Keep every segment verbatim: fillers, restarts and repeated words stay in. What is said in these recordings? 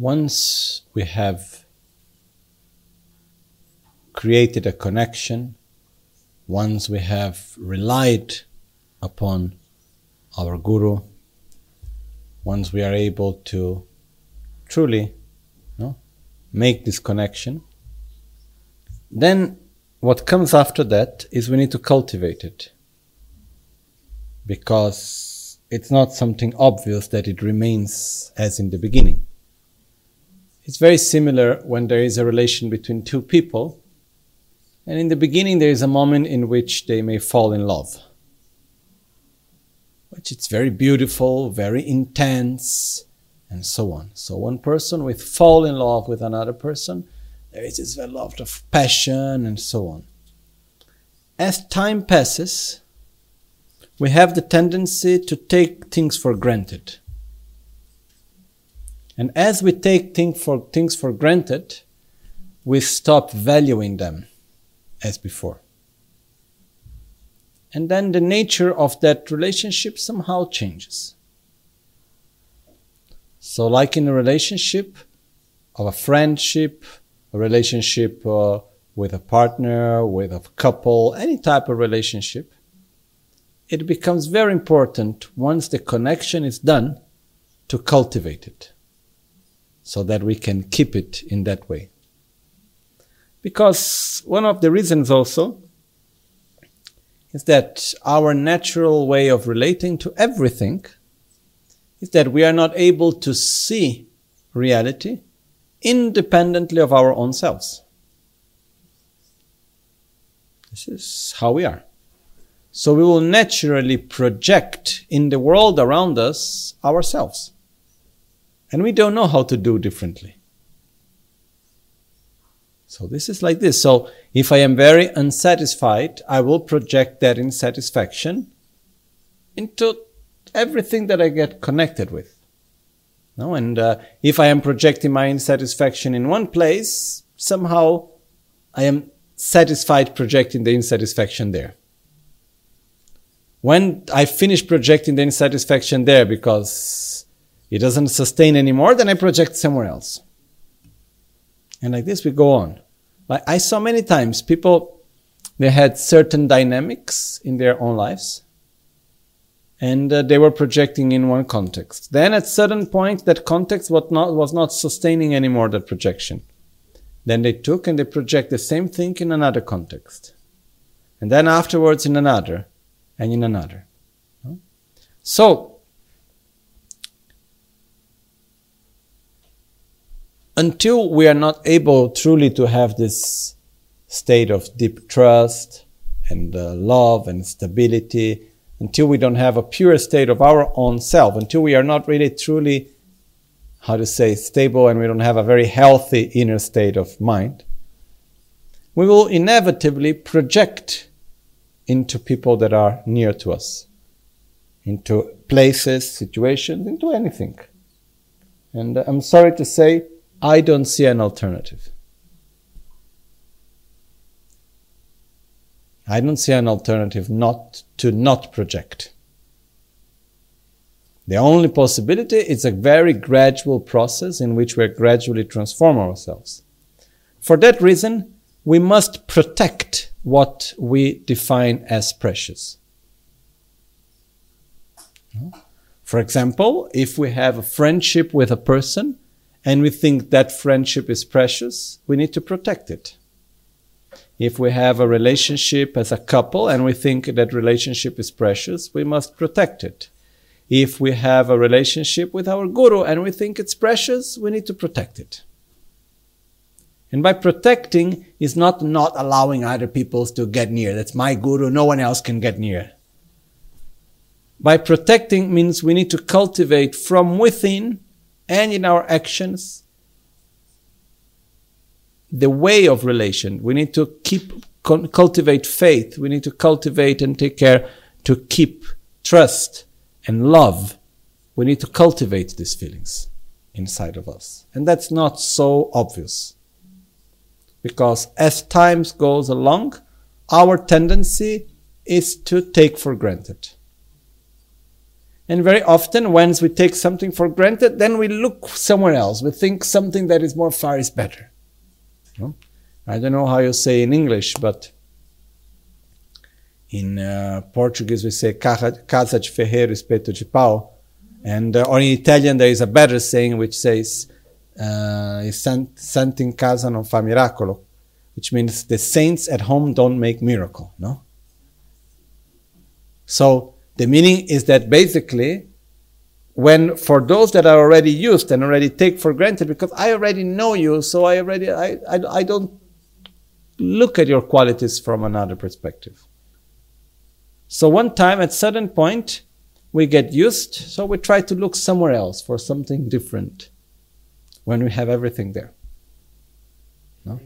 once we have created a connection, once we have relied upon our Guru, once we are able to truly you know, make this connection, then what comes after that is we need to cultivate it. Because it's not something obvious that it remains as in the beginning. It's very similar when there is a relation between two people, and in the beginning there is a moment in which they may fall in love. Which it's very beautiful, very intense, and so on. So one person will fall in love with another person, there is this a lot of passion and so on. As time passes, we have the tendency to take things for granted. And as we take thing for, things for granted, we stop valuing them as before. And then the nature of that relationship somehow changes. So like in a relationship, of a friendship, a relationship uh, with a partner, with a couple, any type of relationship, it becomes very important once the connection is done to cultivate it so that we can keep it in that way. Because one of the reasons also is that our natural way of relating to everything is that we are not able to see reality independently of our own selves. This is how we are. So we will naturally project in the world around us ourselves. And we don't know how to do differently. So this is like this. So if I am very unsatisfied, I will project that insatisfaction into everything that I get connected with. No? And uh, if I am projecting my insatisfaction in one place, somehow I am satisfied projecting the insatisfaction there. When I finish projecting the insatisfaction there because it doesn't sustain anymore, then I project somewhere else. And like this we go on. Like I saw many times people, they had certain dynamics in their own lives and uh, they were projecting in one context. Then at certain point that context was not, was not sustaining anymore that projection. Then they took and they project the same thing in another context. And then afterwards in another. And in another. So, until we are not able truly to have this state of deep trust and uh, love and stability, until we don't have a pure state of our own self, until we are not really truly, how to say, stable and we don't have a very healthy inner state of mind, we will inevitably project into people that are near to us, into places, situations, into anything. And I'm sorry to say, I don't see an alternative. I don't see an alternative not to not project. The only possibility is a very gradual process in which we gradually transform ourselves. For that reason, we must protect what we define as precious. For example, if we have a friendship with a person and we think that friendship is precious, we need to protect it. If we have a relationship as a couple and we think that relationship is precious, we must protect it. If we have a relationship with our Guru and we think it's precious, we need to protect it. And by protecting is not not allowing other people to get near. That's my Guru, no one else can get near. By protecting means we need to cultivate from within and in our actions the way of relation. We need to keep cultivate faith. We need to cultivate and take care to keep trust and love. We need to cultivate these feelings inside of us. And that's not so obvious. Because as time goes along, our tendency is to take for granted. And very often, once we take something for granted, then we look somewhere else. We think something that is more far is better. No? I don't know how you say in English, but in uh, Portuguese we say casa de ferreiro, espeto de pau. And, uh, or in Italian there is a better saying which says, uh, santo in casa non fa miracolo, which means the saints at home don't make miracle. No? So, the meaning is that basically, when for those that are already used and already take for granted, because I already know you, so I already, I, I, I don't look at your qualities from another perspective. So one time, at certain point, we get used, so we try to look somewhere else for something different when we have everything there. No?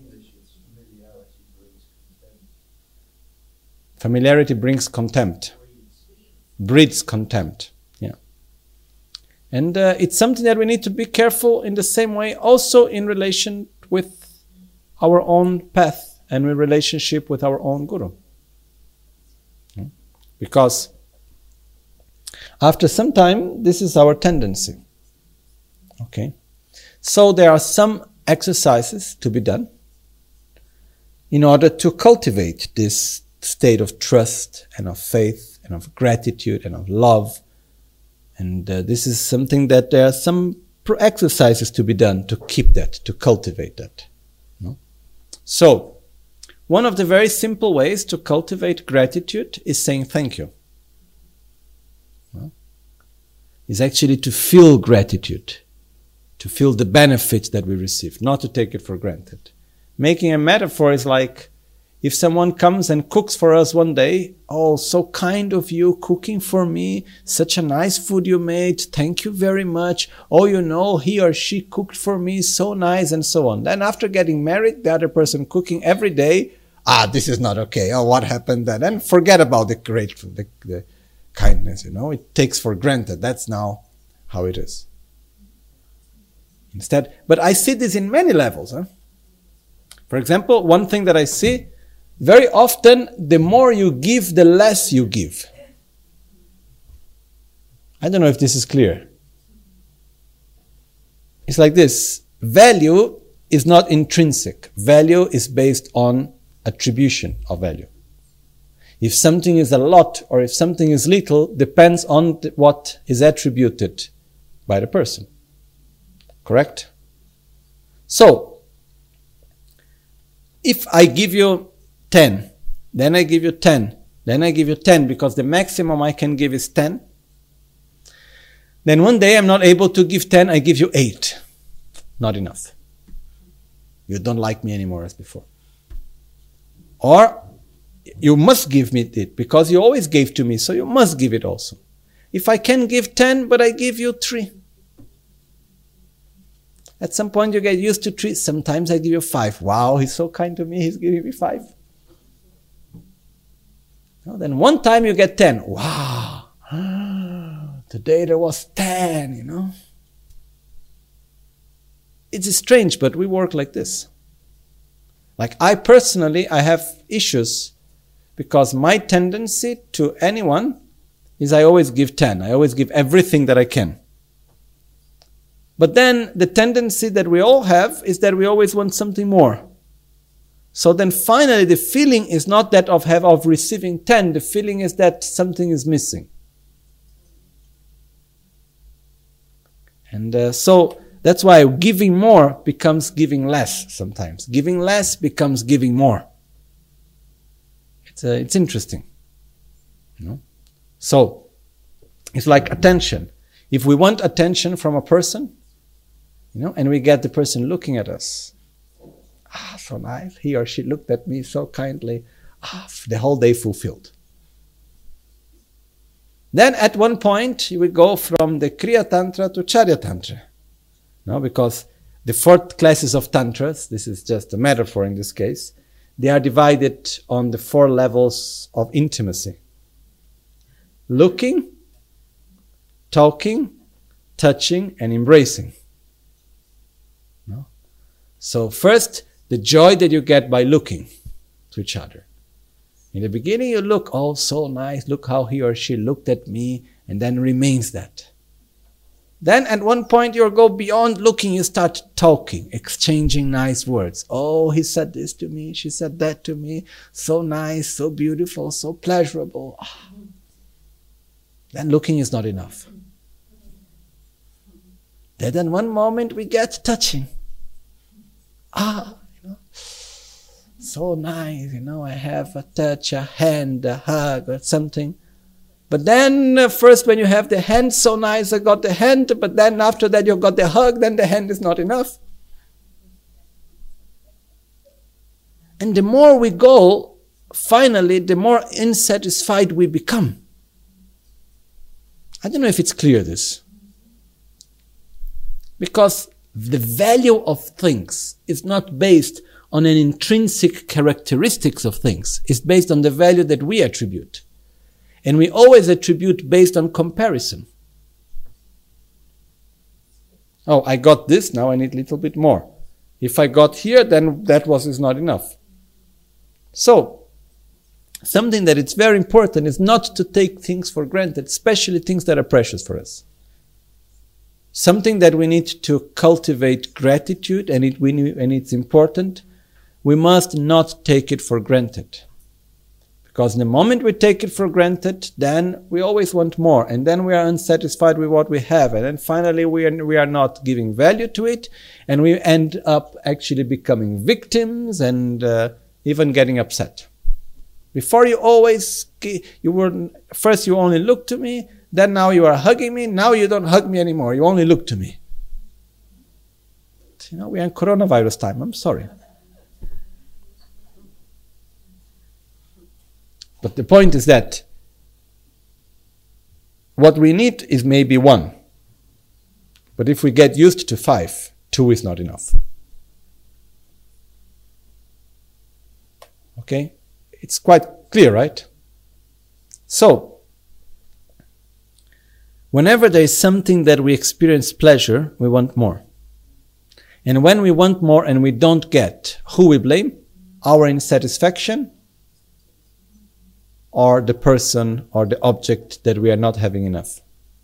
Familiarity brings contempt. Breeds contempt. Yeah. And uh, it's something that we need to be careful in the same way, also in relation with our own path and in relationship with our own guru. Yeah. Because after some time, this is our tendency. Okay. So there are some exercises to be done in order to cultivate this state of trust and of faith and of gratitude and of love. And uh, this is something that there are some pro- exercises to be done to keep that, to cultivate that. No? So, one of the very simple ways to cultivate gratitude is saying thank you. No? Is actually to feel gratitude, to feel the benefits that we receive, not to take it for granted. Making a metaphor is like, if someone comes and cooks for us one day, oh, so kind of you cooking for me, such a nice food you made, thank you very much. Oh, you know, he or she cooked for me, so nice, and so on. Then after getting married, the other person cooking every day, ah, this is not okay. Oh, what happened then? And forget about the great, the, the kindness, you know. It takes for granted. That's now how it is. Instead, but I see this in many levels. Huh? For example, one thing that I see, very often, the more you give, the less you give. I don't know if this is clear. It's like this. Value is not intrinsic. Value is based on attribution of value. If something is a lot or if something is little, depends on what is attributed by the person. Correct? So, if I give you ten, then I give you ten, then I give you ten, because the maximum I can give is ten. Then one day I'm not able to give ten, I give you eight. Not enough. You don't like me anymore as before. Or you must give me it, because you always gave to me, so you must give it also. If I can give ten, but I give you three. At some point you get used to three, sometimes I give you five. Wow, he's so kind to me, he's giving me five. No, then one time you get ten. Wow, today there was ten, you know. It's strange, but we work like this. Like I personally, I have issues because my tendency to anyone is I always give ten. I always give everything that I can. But then the tendency that we all have is that we always want something more. So then finally the feeling is not that of have of receiving ten, the feeling is that something is missing. And uh, so that's why giving more becomes giving less sometimes. Giving less becomes giving more. It's, uh, it's interesting. You know? So, it's like attention. If we want attention from a person, you know, and we get the person looking at us, ah, so nice, he or she looked at me so kindly, ah, the whole day fulfilled. Then at one point, you will go from the Kriya Tantra to Charya Tantra. No, because the four classes of Tantras, this is just a metaphor in this case, they are divided on the four levels of intimacy. Looking, talking, touching, and embracing. No? So first, the joy that you get by looking to each other. In the beginning you look, oh, so nice, look how he or she looked at me, and then remains that. Then at one point you go beyond looking, you start talking, exchanging nice words. Oh, he said this to me, she said that to me. So nice, so beautiful, so pleasurable. Ah. Then looking is not enough. Then in one moment we get touching. Ah, you know, so nice, you know, I have a touch, a hand, a hug or something. But then uh, first when you have the hand, so nice, I got the hand, but then after that you got the hug, then the hand is not enough. And the more we go, finally, the more unsatisfied we become. I don't know if it's clear, this. Because the value of things is not based on an intrinsic characteristics of things. It's based on the value that we attribute. And we always attribute based on comparison. Oh, I got this, now I need a little bit more. If I got here, then that was is not enough. So, something that it's very important is not to take things for granted, especially things that are precious for us. Something that we need to cultivate gratitude, and it we, and it's important, we must not take it for granted. Because the moment we take it for granted, then we always want more, and then we are unsatisfied with what we have, and then finally we are, we are not giving value to it, and we end up actually becoming victims and uh, even getting upset. Before you always, you were, first you only looked to me, then now you are hugging me, now you don't hug me anymore, you only look to me. You know, we are in coronavirus time, I'm sorry. But the point is that what we need is maybe one. But if we get used to five, two is not enough. Okay? It's quite clear, right? So, whenever there is something that we experience pleasure, we want more. And when we want more and we don't get, who we blame? Our insatisfaction, or the person or the object that we are not having enough.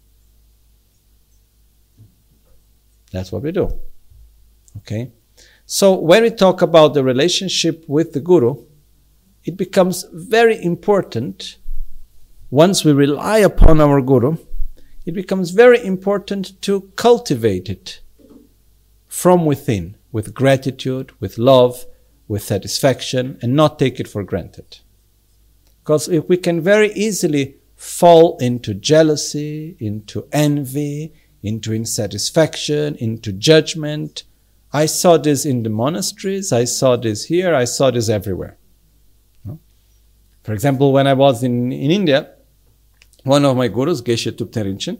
That's what we do. Okay? So when we talk about the relationship with the Guru, it becomes very important, once we rely upon our Guru, it becomes very important to cultivate it from within, with gratitude, with love, with satisfaction, and not take it for granted. Because if we can very easily fall into jealousy, into envy, into insatisfaction, into judgment. I saw this in the monasteries, I saw this here, I saw this everywhere. For example, when I was in, in India, one of my gurus, Geshe Thupten Rinchen,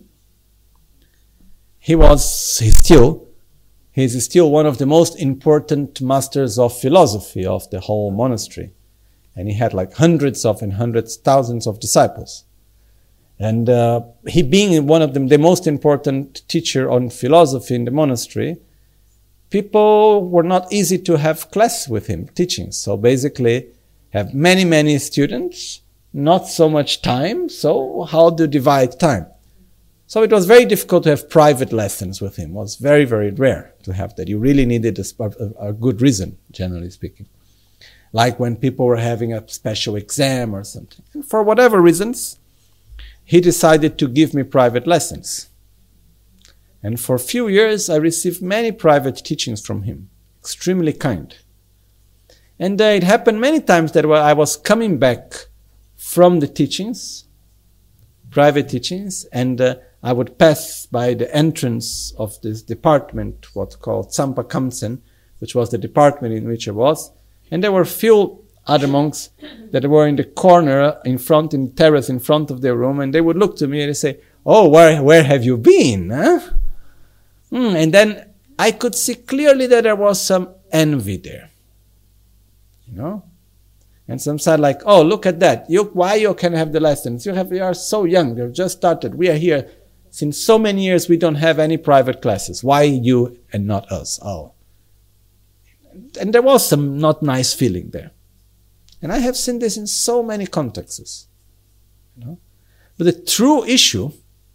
he was, he's still, he's still one of the most important masters of philosophy of the whole monastery. And he had like hundreds of and hundreds, thousands of disciples. And uh, he being one of them, the most important teacher on philosophy in the monastery, people were not easy to have class with him, teaching. So basically, have many, many students, not so much time, so how to divide time? So it was very difficult to have private lessons with him. It was very, very rare to have that. You really needed a, a, a good reason, generally speaking. Like when people were having a special exam or something. And for whatever reasons, he decided to give me private lessons. And for a few years, I received many private teachings from him. Extremely kind. And uh, it happened many times that I was coming back from the teachings, private teachings, and uh, I would pass by the entrance of this department, what's called Tsampa Kamsen, which was the department in which I was. And there were few other monks that were in the corner, in front, in the terrace, in front of their room, and they would look to me and they say, "Oh, where where have you been?" Huh? Mm, and then I could see clearly that there was some envy there. You know? And some said like, "Oh, look at that. You, why you can have the lessons? You have, you are so young. You've just started. We are here since so many years. We don't have any private classes. Why you and not us?" Oh. And there was some not nice feeling there. And I have seen this in so many contexts. You know? But the true issue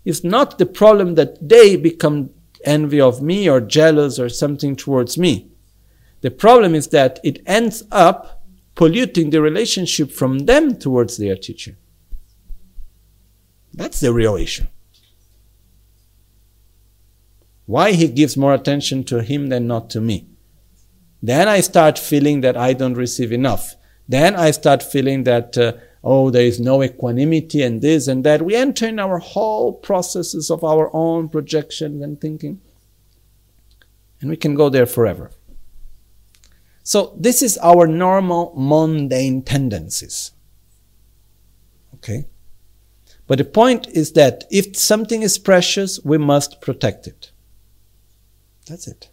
It's not the problem that they become envy of me or jealous or something towards me. The problem is that it ends up polluting the relationship from them towards their teacher. That's the real issue. Why he gives more attention to him than not to me? Then I start feeling that I don't receive enough. Then I start feeling that, uh, oh, there is no equanimity and this and that. We enter in our whole processes of our own projections and thinking. And we can go there forever. So this is our normal mundane tendencies. Okay? But the point is that if something is precious, we must protect it. That's it.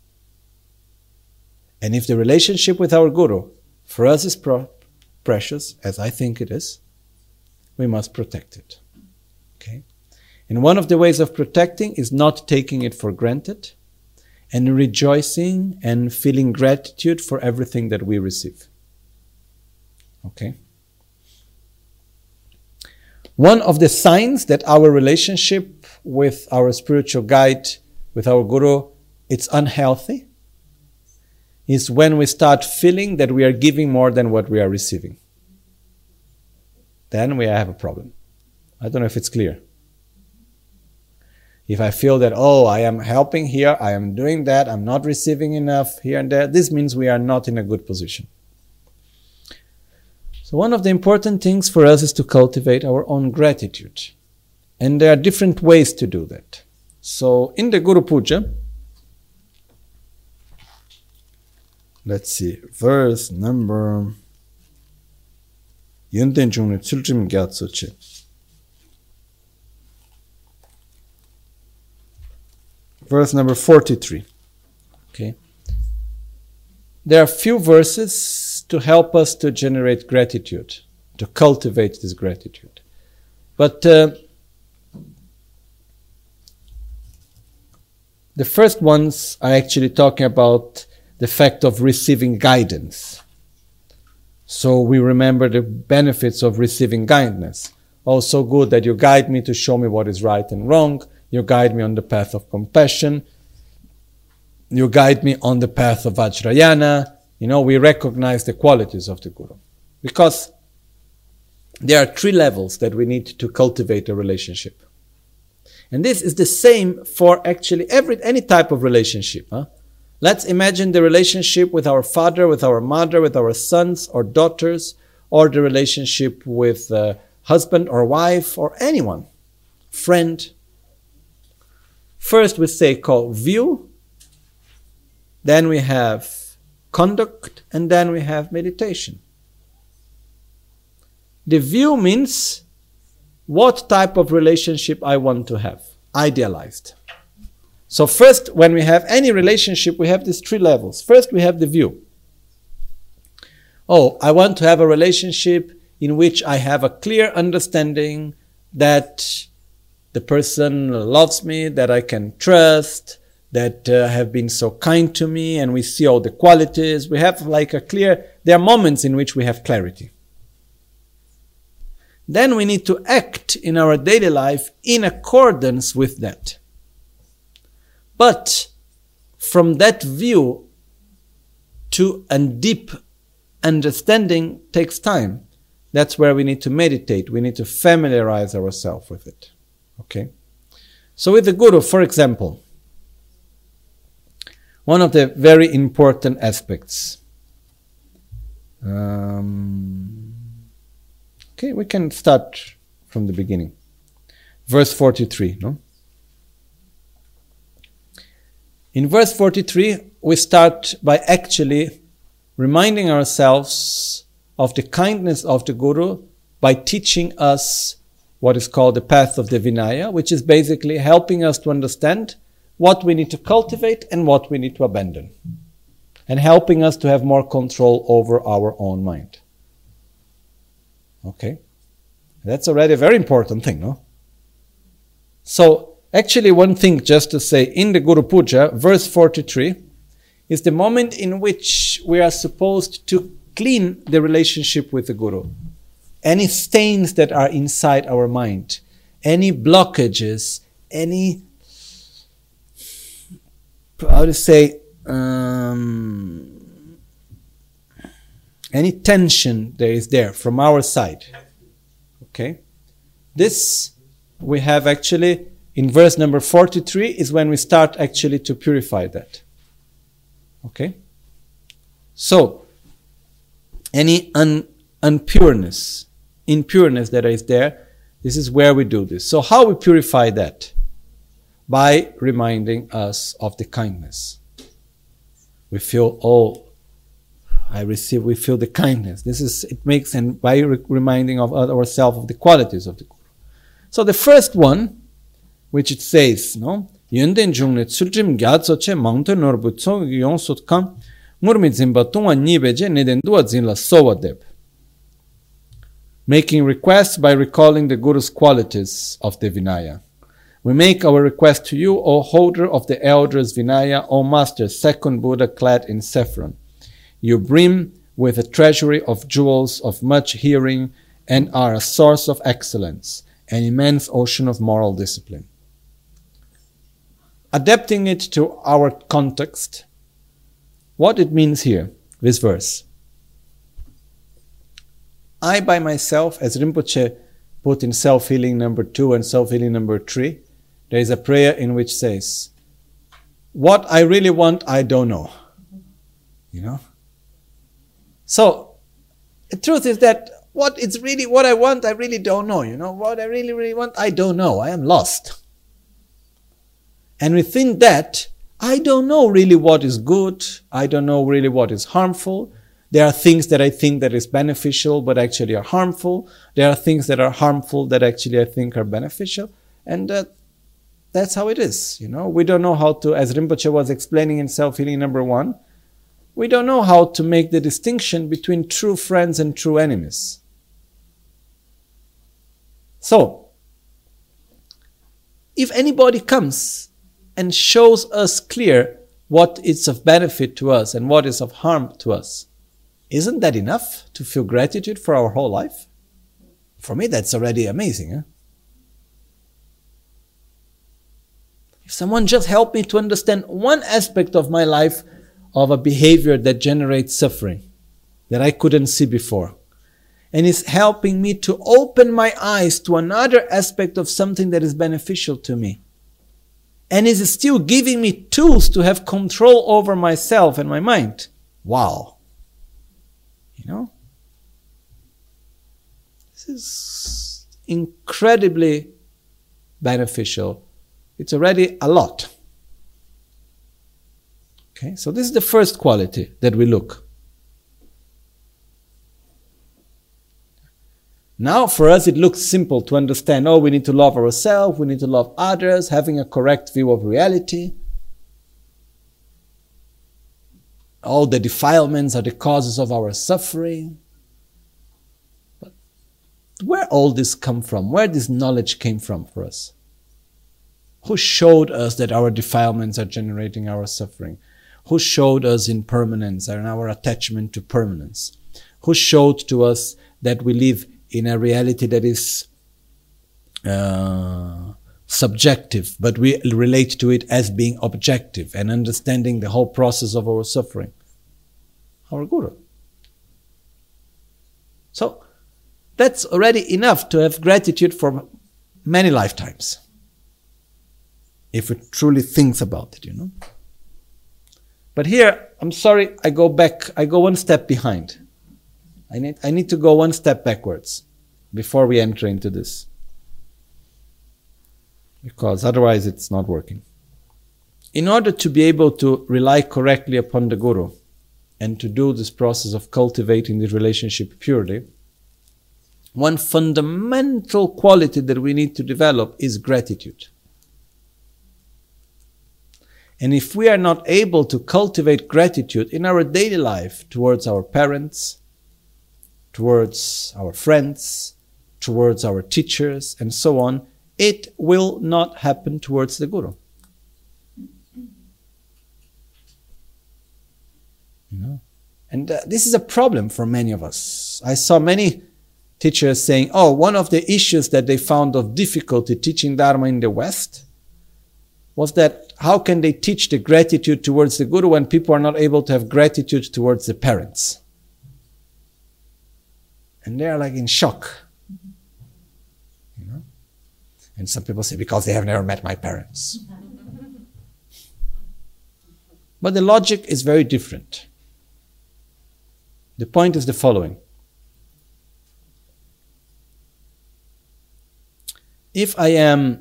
And if the relationship with our Guru for us is pro- precious, as I think it is, we must protect it. Okay? And one of the ways of protecting is not taking it for granted and rejoicing and feeling gratitude for everything that we receive. Okay? One of the signs that our relationship with our spiritual guide, with our Guru, it's unhealthy, is when we start feeling that we are giving more than what we are receiving. Then we have a problem. I don't know if it's clear. If I feel that, oh, I am helping here, I am doing that, I'm not receiving enough here and there, this means we are not in a good position. So one of the important things for us is to cultivate our own gratitude. And there are different ways to do that. So in the Guru Puja, let's see, verse number Yunten Chungni Tsulchim Gyatsoche. Verse number forty-three. Okay. There are few verses to help us to generate gratitude, to cultivate this gratitude. But uh, the first ones are actually talking about the fact of receiving guidance. So we remember the benefits of receiving guidance. Oh, so good that you guide me to show me what is right and wrong. You guide me on the path of compassion. You guide me on the path of Vajrayana. You know, we recognize the qualities of the Guru. Because there are three levels that we need to cultivate a relationship. And this is the same for actually every any type of relationship. Huh? Let's imagine the relationship with our father, with our mother, with our sons or daughters, or the relationship with uh, husband or wife or anyone, friend. First we say call view, then we have conduct, and then we have meditation. The view means what type of relationship I want to have, idealized. So first, when we have any relationship, we have these three levels. First, we have the view. Oh, I want to have a relationship in which I have a clear understanding that the person loves me, that I can trust, that uh, have been so kind to me, and we see all the qualities. We have like a clear, there are moments in which we have clarity. Then we need to act in our daily life in accordance with that. But from that view to a deep understanding takes time. That's where we need to meditate. We need to familiarize ourselves with it. Okay? So with the Guru, for example, one of the very important aspects. Um, okay, we can start from the beginning. Verse forty-three, no? In verse forty-three, we start by actually reminding ourselves of the kindness of the Guru by teaching us what is called the path of the Vinaya, which is basically helping us to understand what we need to cultivate and what we need to abandon, and helping us to have more control over our own mind. Okay? That's already a very important thing, no? So, actually one thing just to say, in the Guru Puja, verse forty-three, is the moment in which we are supposed to clean the relationship with the Guru. Any stains that are inside our mind, any blockages, any, how to say, um, any tension there is there from our side. Okay? This we have actually, in verse number forty-three, is when we start actually to purify that. Okay? So, any un, unpureness, impureness that is there, this is where we do this. So how we purify that? By reminding us of the kindness. We feel, oh, I receive, we feel the kindness. This is, it makes, and by re- reminding of ourselves of the qualities of the Guru. So the first one, which it says, no? Yönden jungnet suljim gyatso che mangto norbutso yongsut kam murmi zimba tunga nibeje neden dua zinla sowa deb. Making requests by recalling the Guru's qualities of the Vinaya. We make our request to you, O holder of the elders Vinaya, O master, second Buddha clad in saffron. You brim with a treasury of jewels of much hearing and are a source of excellence, an immense ocean of moral discipline. Adapting it to our context, what it means here, this verse. I by myself, as Rinpoche put in self-healing number two and self-healing number three, there is a prayer in which says, what I really want, I don't know. You know? So, the truth is that what it's really, what I want, I really don't know. You know, what I really, really want, I don't know. I am lost. And within that, I don't know really what is good. I don't know really what is harmful. There are things that I think that is beneficial, but actually are harmful. There are things that are harmful that actually I think are beneficial. And uh, that's how it is. You know, we don't know how to, as Rinpoche was explaining in self-healing number one, we don't know how to make the distinction between true friends and true enemies. So, if anybody comes and shows us clear what is of benefit to us and what is of harm to us, isn't that enough to feel gratitude for our whole life? For me, that's already amazing. Huh? If someone just helped me to understand one aspect of my life of a behavior that generates suffering that I couldn't see before, and is helping me to open my eyes to another aspect of something that is beneficial to me, and is still giving me tools to have control over myself and my mind. Wow. You know? This is incredibly beneficial. It's already a lot. Okay, so this is the first quality that we look. Now, for us, it looks simple to understand, oh, we need to love ourselves, we need to love others, having a correct view of reality. All the defilements are the causes of our suffering. But where all this come from? Where this knowledge came from for us? Who showed us that our defilements are generating our suffering? Who showed us impermanence and our attachment to permanence? Who showed to us that we live in a reality that is uh, subjective, but we relate to it as being objective and understanding the whole process of our suffering? Our Guru. So, that's already enough to have gratitude for many lifetimes. If we truly think about it, you know. But here, I'm sorry, I go back, I go one step behind. I need, I need to go one step backwards before we enter into this. Because otherwise it's not working. In order to be able to rely correctly upon the Guru and to do this process of cultivating the relationship purely, one fundamental quality that we need to develop is gratitude. And if we are not able to cultivate gratitude in our daily life towards our parents, towards our friends, towards our teachers, and so on, it will not happen towards the Guru. You know? And uh, this is a problem for many of us. I saw many teachers saying, oh, one of the issues that they found of difficulty teaching Dharma in the West was that how can they teach the gratitude towards the Guru when people are not able to have gratitude towards the parents? And they are like in shock. You know? And some people say, because they have never met my parents. But the logic is very different. The point is the following. If I am,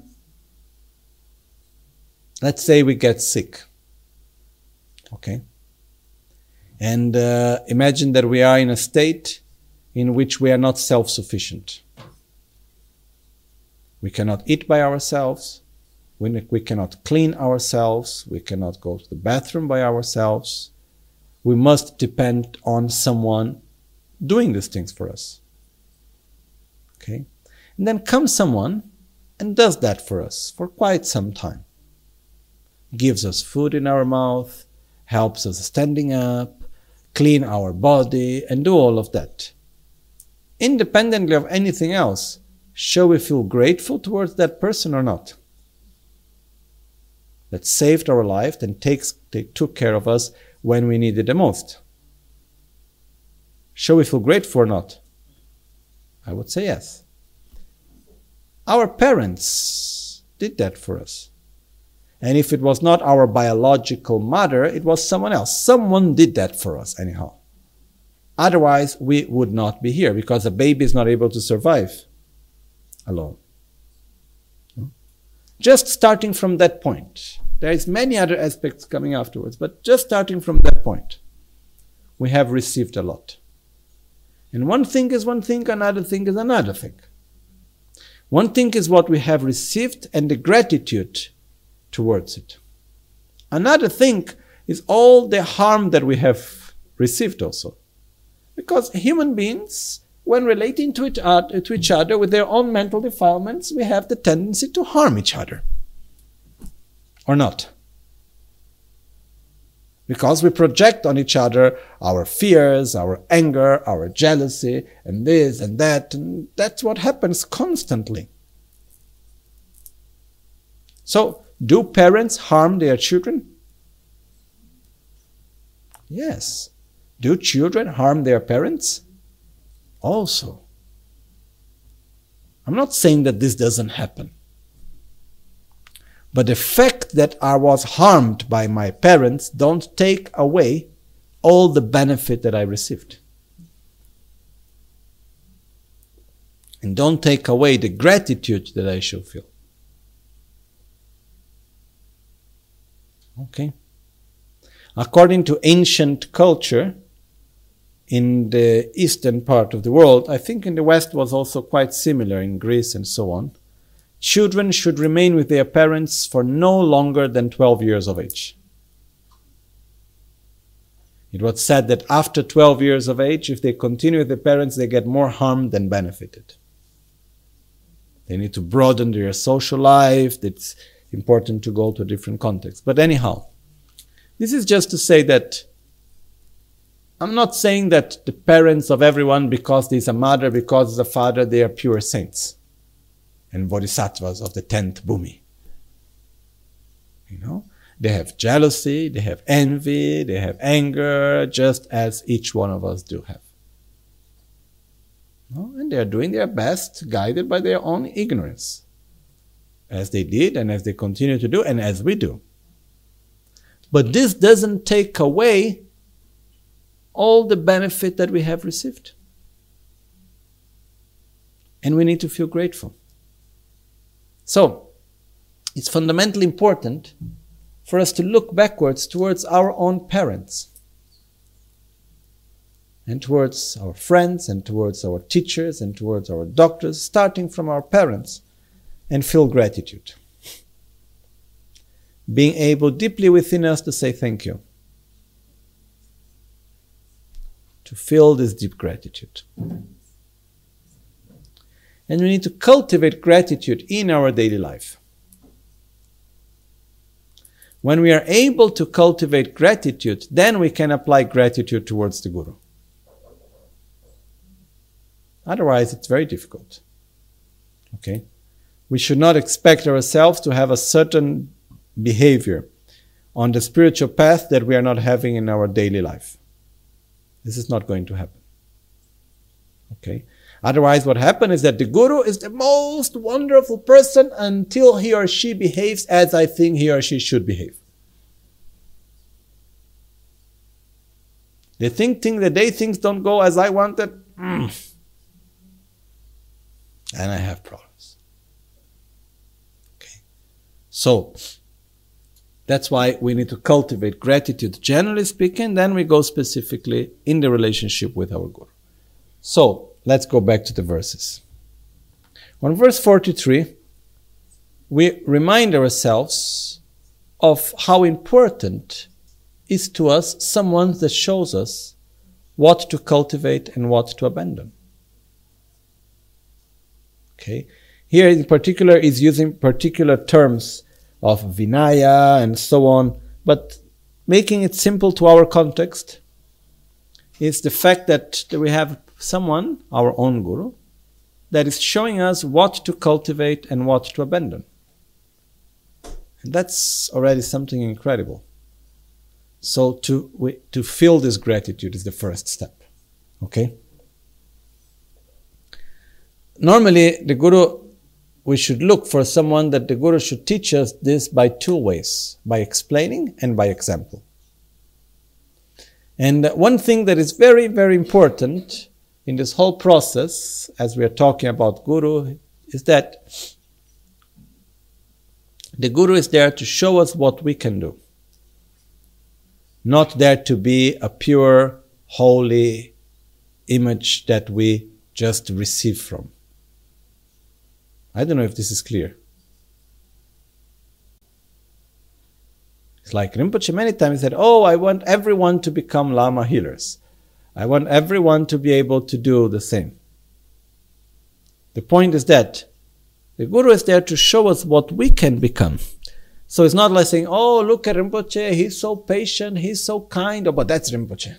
let's say we get sick, okay? And uh, imagine that we are in a state in which we are not self-sufficient. We cannot eat by ourselves, we, we cannot clean ourselves, we cannot go to the bathroom by ourselves. We must depend on someone doing these things for us. Okay? And then comes someone and does that for us for quite some time. Gives us food in our mouth, helps us standing up, clean our body, and do all of that. Independently of anything else, shall we feel grateful towards that person or not? That saved our life and takes, they took care of us when we needed the most. Shall we feel grateful or not? I would say yes. Our parents did that for us. And if it was not our biological mother, it was someone else. Someone did that for us anyhow. Otherwise, we would not be here because a baby is not able to survive alone. Just starting from that point. There is many other aspects coming afterwards, but just starting from that point, we have received a lot. And one thing is one thing, another thing is another thing. One thing is what we have received and the gratitude towards it. Another thing is all the harm that we have received also. Because human beings, when relating to each other, to each other with their own mental defilements, we have the tendency to harm each other. Or not. Because we project on each other our fears, our anger, our jealousy, and this and that, and that's what happens constantly. So, do parents harm their children? Yes. Do children harm their parents? Also. I'm not saying that this doesn't happen. But the fact that I was harmed by my parents don't take away all the benefit that I received. And don't take away the gratitude that I should feel. Okay. According to ancient culture, in the eastern part of the world, I think in the West was also quite similar in Greece and so on, children should remain with their parents for no longer than twelve years of age. It was said that after twelve years of age, if they continue with their parents, they get more harm than benefited. They need to broaden their social life. It's important to go to a different context. But anyhow, this is just to say that I'm not saying that the parents of everyone, because there's a mother, because there's a father, they are pure saints and bodhisattvas of the tenth bhumi. You know, they have jealousy, they have envy, they have anger, just as each one of us do have. No? And they are doing their best, guided by their own ignorance, as they did and as they continue to do and as we do. But this doesn't take away all the benefit that we have received. And we need to feel grateful. So, it's fundamentally important for us to look backwards towards our own parents and towards our friends and towards our teachers and towards our doctors, starting from our parents, and feel gratitude. Being able deeply within us to say thank you. To feel this deep gratitude. And we need to cultivate gratitude in our daily life. When we are able to cultivate gratitude, then we can apply gratitude towards the Guru. Otherwise, it's very difficult. Okay? We should not expect ourselves to have a certain behavior on the spiritual path that we are not having in our daily life. This is not going to happen. Okay? Otherwise, what happens is that the guru is the most wonderful person until he or she behaves as I think he or she should behave. They think, think that they things don't go as I wanted. Mm. And I have problems. Okay. So, that's why we need to cultivate gratitude, generally speaking. Then we go specifically in the relationship with our guru. So, let's go back to the verses. On verse forty-three, we remind ourselves of how important is to us someone that shows us what to cultivate and what to abandon. Okay? Here in particular is using particular terms of Vinaya and so on, but making it simple to our context is the fact that we have someone, our own guru, that is showing us what to cultivate and what to abandon. And that's already something incredible. So to we, to feel this gratitude is the first step. Okay? Normally, the guru, we should look for someone that the guru should teach us this by two ways, by explaining and by example. And one thing that is very, very important in this whole process, as we are talking about guru, is that the guru is there to show us what we can do. Not there to be a pure, holy image that we just receive from. I don't know if this is clear. It's like Rinpoche many times said, oh, I want everyone to become Lama healers. I want everyone to be able to do the same. The point is that the Guru is there to show us what we can become. So it's not like saying, oh, look at Rinpoche, he's so patient, he's so kind, oh, but that's Rinpoche.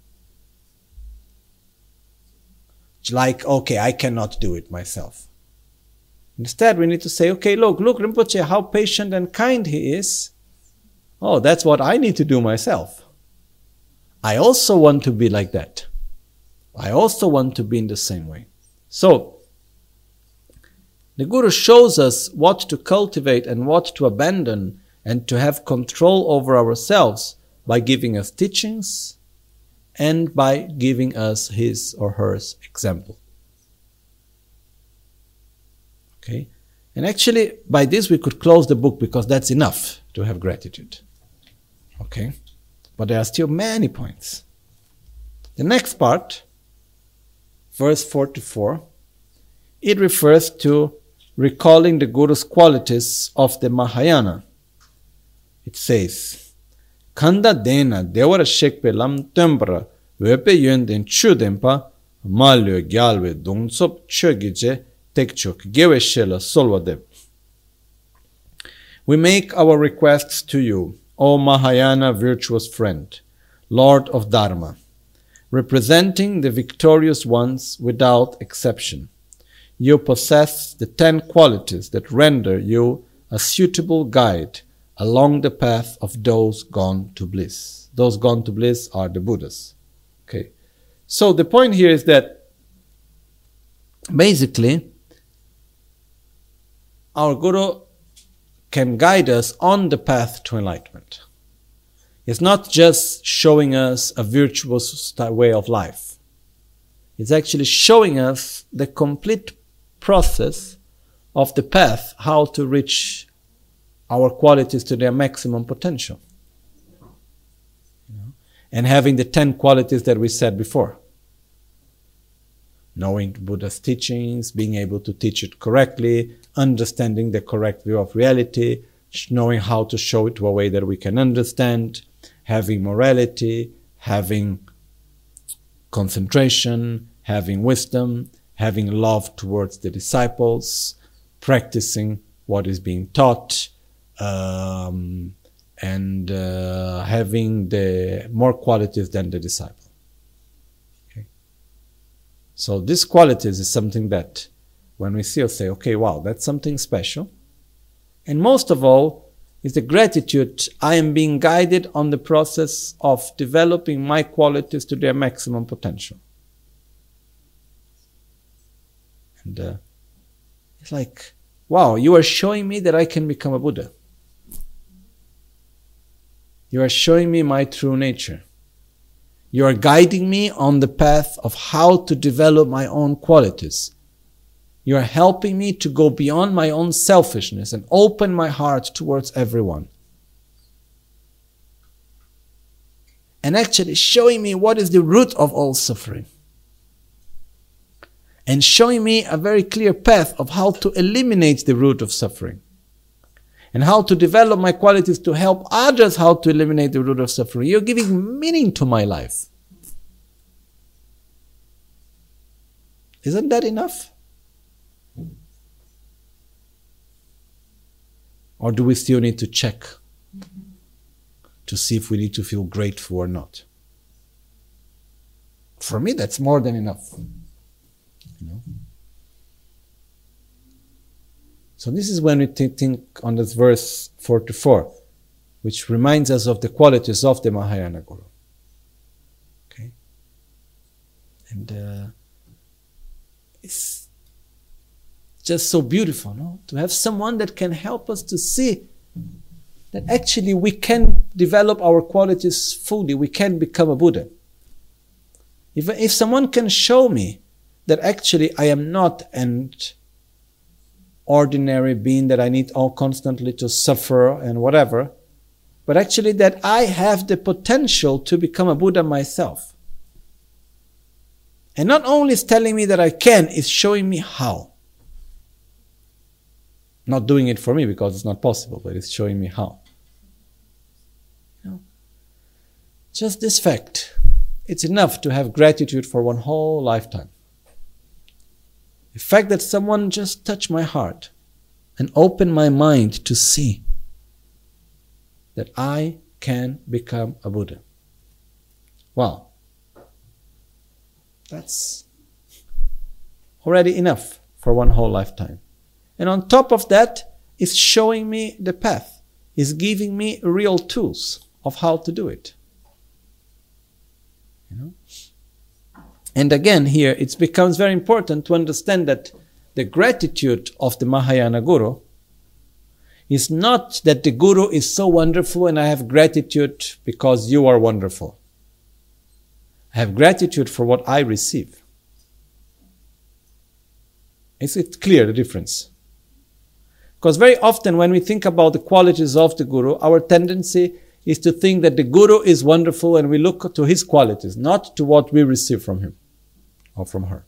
It's like, okay, I cannot do it myself. Instead, we need to say, okay, look, look, Rinpoche, how patient and kind he is. Oh, that's what I need to do myself. I also want to be like that. I also want to be in the same way. So, the Guru shows us what to cultivate and what to abandon and to have control over ourselves by giving us teachings and by giving us his or her example. Okay? And actually, by this we could close the book because that's enough to have gratitude. Okay? But there are still many points. The next part, verse forty-four, it refers to recalling the Guru's qualities of the Mahayana. It says, Kanda dena devara shekpe lam tembra wepe yönden chudempa malyo gyalwe dungsop chögije tekchok gewe shela solvadev. We make our requests to you, O Mahayana virtuous friend, Lord of Dharma, representing the victorious ones without exception. You possess the ten qualities that render you a suitable guide along the path of those gone to bliss. Those gone to bliss are the Buddhas. Okay. So the point here is that basically our Guru can guide us on the path to enlightenment. It's not just showing us a virtuous way of life. It's actually showing us the complete process of the path, how to reach our qualities to their maximum potential. You know? And having the ten qualities that we said before. Knowing Buddha's teachings, being able to teach it correctly, understanding the correct view of reality, knowing how to show it to a way that we can understand, having morality, having concentration, having wisdom, having love towards the disciples, practicing what is being taught, um, and uh, having the more qualities than the disciple. Okay. So these qualities is something that when we see or say, okay, wow, that's something special. And most of all is the gratitude. I am being guided on the process of developing my qualities to their maximum potential. And uh, it's like, wow, you are showing me that I can become a Buddha. You are showing me my true nature. You are guiding me on the path of how to develop my own qualities. You are helping me to go beyond my own selfishness and open my heart towards everyone. And actually showing me what is the root of all suffering. And showing me a very clear path of how to eliminate the root of suffering. And how to develop my qualities to help others how to eliminate the root of suffering. You're giving meaning to my life. Isn't that enough? Or do we still need to check to see if we need to feel grateful or not? For me, that's more than enough. You know? So this is when we think on this verse forty-four, which reminds us of the qualities of the Mahayana Guru. Okay? And uh, it's just so beautiful, no? To have someone that can help us to see that actually we can develop our qualities fully, we can become a Buddha. If, if someone can show me that actually I am not an ordinary being, that I need all constantly to suffer and whatever, but actually that I have the potential to become a Buddha myself. And not only is telling me that I can, it's showing me how. Not doing it for me because it's not possible, but it's showing me how. You know, just this fact, it's enough to have gratitude for one whole lifetime. The fact that someone just touched my heart and opened my mind to see that I can become a Buddha. Wow. That's already enough for one whole lifetime. And on top of that, it's showing me the path. It's giving me real tools of how to do it. You know? And again, here it becomes very important to understand that the gratitude of the Mahayana Guru is not that the Guru is so wonderful and I have gratitude because you are wonderful. I have gratitude for what I receive. Is it clear, the difference? Because very often when we think about the qualities of the Guru, our tendency is to think that the Guru is wonderful and we look to his qualities, not to what we receive from him or from her.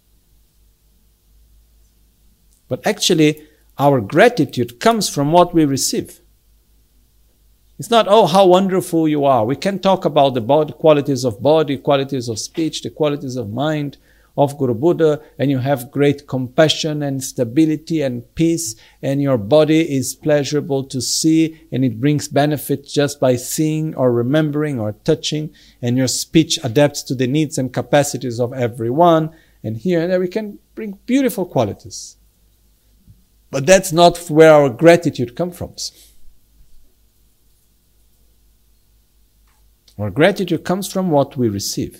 But actually, our gratitude comes from what we receive. It's not, oh, how wonderful you are. We can talk about the body, qualities of body, qualities of speech, the qualities of mind of Guru Buddha, and you have great compassion and stability and peace, and your body is pleasurable to see, and it brings benefit just by seeing or remembering or touching, and your speech adapts to the needs and capacities of everyone, and here and there we can bring beautiful qualities. But that's not where our gratitude comes from. Our gratitude comes from what we receive.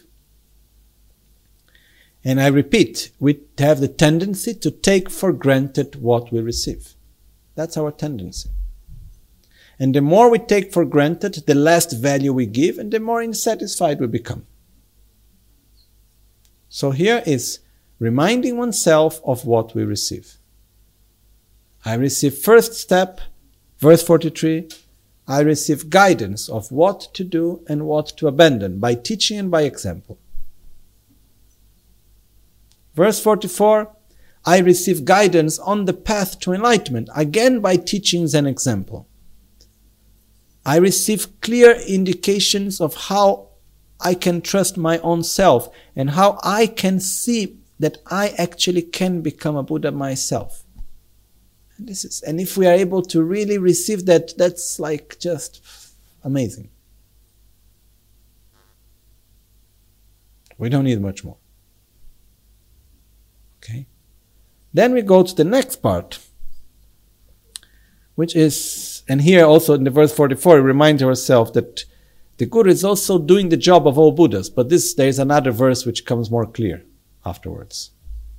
And I repeat, we have the tendency to take for granted what we receive. That's our tendency. And the more we take for granted, the less value we give, and the more unsatisfied we become. So here is reminding oneself of what we receive. I receive first step, verse forty-three, I receive guidance of what to do and what to abandon by teaching and by example. Verse forty-four, I receive guidance on the path to enlightenment, again by teachings and example. I receive clear indications of how I can trust my own self and how I can see that I actually can become a Buddha myself. And this is, and if we are able to really receive that, that's like just amazing. We don't need much more. Okay. Then we go to the next part, which is, and here also in the verse forty-four, we remind ourselves that the Guru is also doing the job of all Buddhas, but this there is another verse which comes more clear afterwards.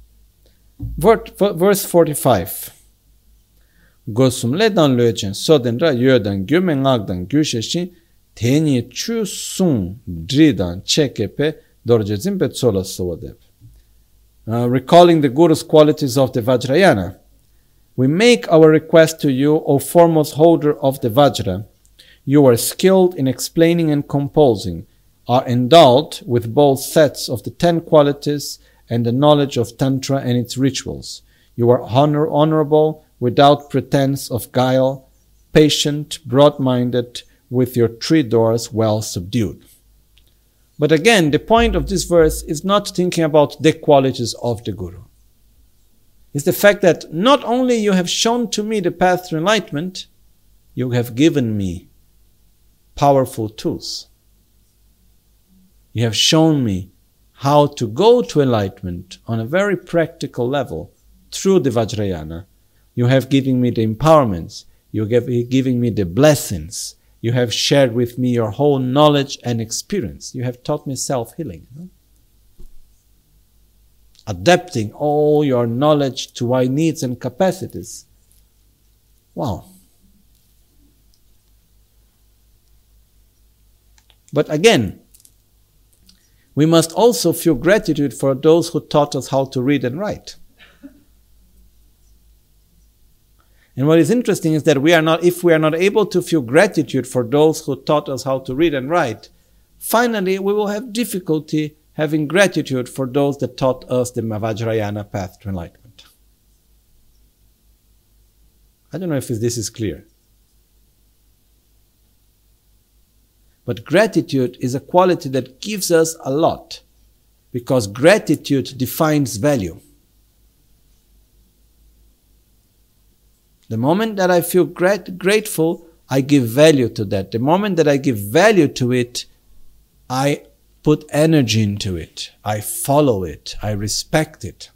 Verse forty-five. Gosum ledan lechen sodenra yodan gyumen agdan gyusheshin teni chu sun dridan chekepe dorjezim betsola sowadeb. Recalling the Guru's qualities of the Vajrayana, we make our request to you, O foremost holder of the Vajra. You are skilled in explaining and composing, are endowed with both sets of the ten qualities and the knowledge of Tantra and its rituals. You are honor, honorable, without pretense of guile, patient, broad-minded, with your three doors well subdued. But again, the point of this verse is not thinking about the qualities of the Guru. It's the fact that not only you have shown to me the path to enlightenment, you have given me powerful tools. You have shown me how to go to enlightenment on a very practical level through the Vajrayana. You have given me the empowerments. You have given me the blessings. You have shared with me your whole knowledge and experience. You have taught me self-healing. You know? Adapting all your knowledge to my needs and capacities. Wow. But again, we must also feel gratitude for those who taught us how to read and write. And what is interesting is that we are not, if we are not able to feel gratitude for those who taught us how to read and write, finally we will have difficulty having gratitude for those that taught us the Vajrayana path to enlightenment. I don't know if this is clear. But gratitude is a quality that gives us a lot, because gratitude defines value. The moment that I feel grat- grateful, I give value to that. The moment that I give value to it, I put energy into it. I follow it. I respect it.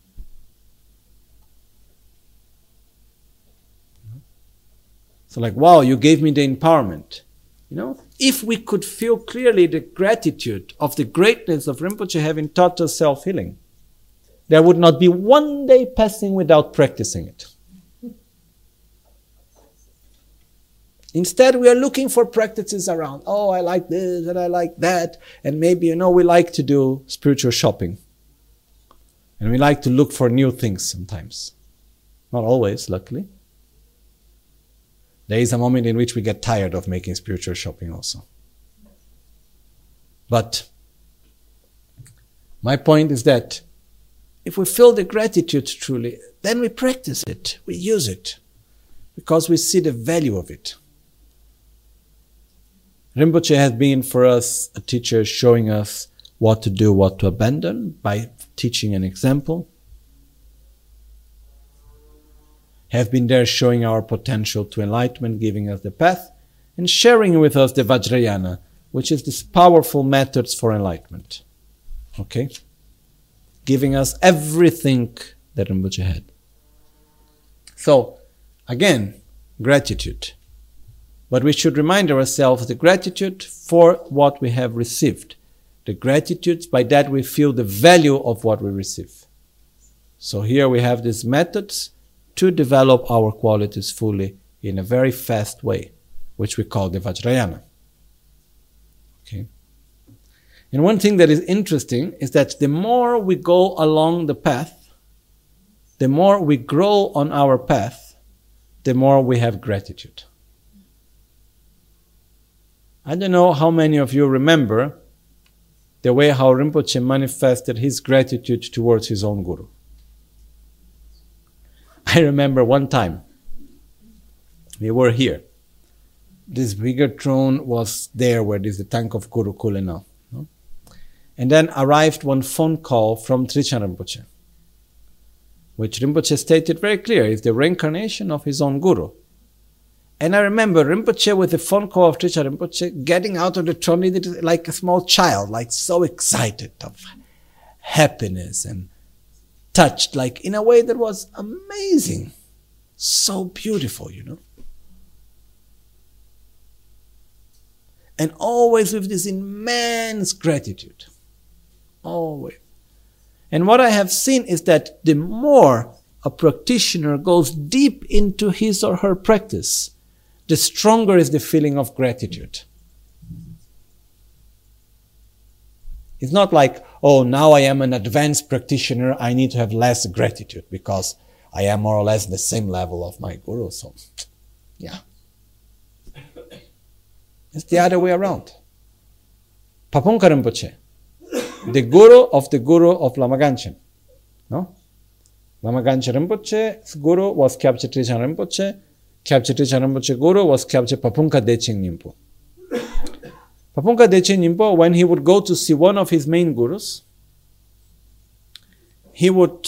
So like, wow, you gave me the empowerment. You know, if we could feel clearly the gratitude of the greatness of Rinpoche having taught us self-healing, there would not be one day passing without practicing it. Instead, we are looking for practices around. Oh, I like this and I like that. And maybe, you know, we like to do spiritual shopping. And we like to look for new things sometimes. Not always, luckily. There is a moment in which we get tired of making spiritual shopping also. But my point is that if we feel the gratitude truly, then we practice it. We use it. Because we see the value of it. Rinpoche has been for us a teacher showing us what to do, what to abandon by teaching an example. Have been there showing our potential to enlightenment, giving us the path, and sharing with us the Vajrayana, which is this powerful methods for enlightenment. Okay? Giving us everything that Rinpoche had. So, again, gratitude. But we should remind ourselves the gratitude for what we have received. The gratitude, by that we feel the value of what we receive. So here we have these methods to develop our qualities fully in a very fast way, which we call the Vajrayana. Okay. And one thing that is interesting is that the more we go along the path, the more we grow on our path, the more we have gratitude. I don't know how many of you remember the way how Rinpoche manifested his gratitude towards his own Guru. I remember one time, we were here. This bigger throne was there where there's the tank of Gurukul now. No? And then arrived one phone call from Trijang Rinpoche, which Rinpoche stated very clear is the reincarnation of his own Guru. And I remember Rinpoche with the phone call of Trijang Rinpoche getting out of the throne like a small child, like so excited of happiness and touched, like in a way that was amazing. So beautiful, you know. And always with this immense gratitude. Always. And what I have seen is that the more a practitioner goes deep into his or her practice, the stronger is the feeling of gratitude. It's not like, oh, now I am an advanced practitioner, I need to have less gratitude because I am more or less the same level of my guru. So, yeah. It's the other way around. Pabongka Rinpoche, the guru of the guru of Lama Ganchen. No? Lama Ganchen Rinpoche's guru was Kyabche Trijang Rinpoche. Kyabche Trijang Rinpoche guru was Kyabche Pabongka Decheng Nyingpo. Pabongka Decheng Nyingpo, when he would go to see one of his main gurus, he would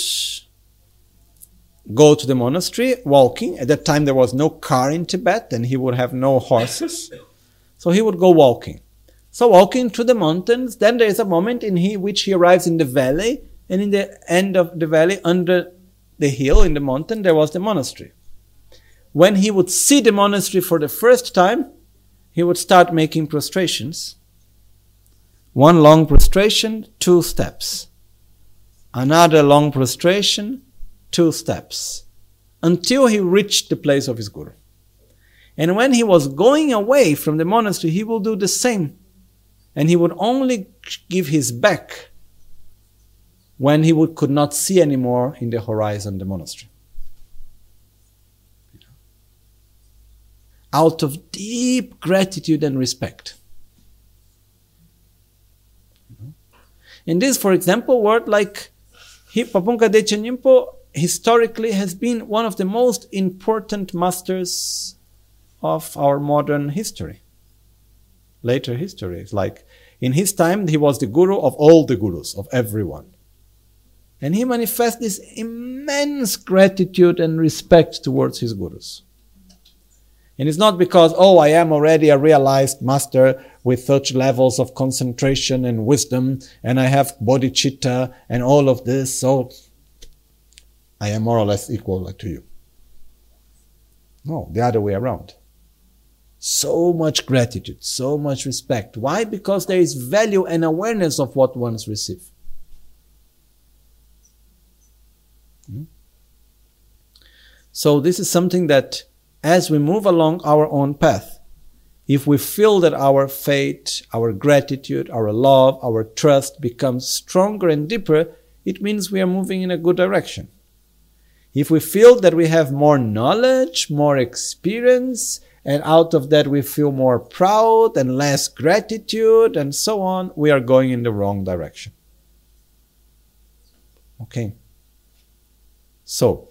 go to the monastery walking. At that time there was no car in Tibet and he would have no horses. So he would go walking. So walking through the mountains, then there is a moment in he, which he arrives in the valley, and in the end of the valley, under the hill in the mountain, there was the monastery. When he would see the monastery for the first time, he would start making prostrations. One long prostration, two steps. Another long prostration, two steps. Until he reached the place of his guru. And when he was going away from the monastery, he will do the same. And he would only give his back when he would, could not see anymore in the horizon the monastery. Out of deep gratitude and respect. In this, for example, word like Pabongka Decheng Nyingpo historically has been one of the most important masters of our modern history, later history. It's like in his time, he was the guru of all the gurus, of everyone. And he manifests this immense gratitude and respect towards his gurus. And it's not because, oh, I am already a realized master with such levels of concentration and wisdom, and I have bodhicitta and all of this, so I am more or less equal to you. No, the other way around. So much gratitude, so much respect. Why? Because there is value and awareness of what one's received. Hmm? So this is something that as we move along our own path, if we feel that our faith, our gratitude, our love, our trust becomes stronger and deeper, it means we are moving in a good direction. If we feel that we have more knowledge, more experience, and out of that we feel more proud and less gratitude and so on, we are going in the wrong direction. Okay. So,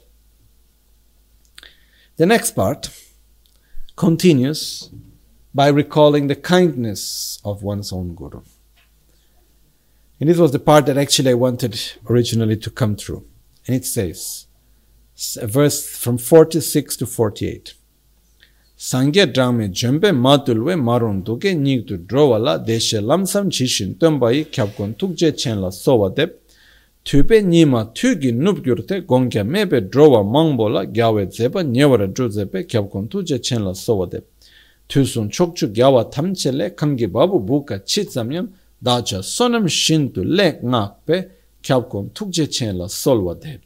the next part continues by recalling the kindness of one's own guru. And this was the part that actually I wanted originally to come through. And it says, a verse from forty-six to forty-eight. Sangye drame jembe matulwe maron duke nigdu drowala deshe lamsam chishin tumbai kyabkon tukje chenla sowadep tube nima tugi nubgyurte gongya mebe drowa mangbola gyawe zeba nyewara druzepe kyabkon tuje chenla sowadep tusun chokchu gyawa tamchele kamgi babu buka chitsamyam dacha sonam shintu le ngakpe kyabkon tukje chenla solwadep.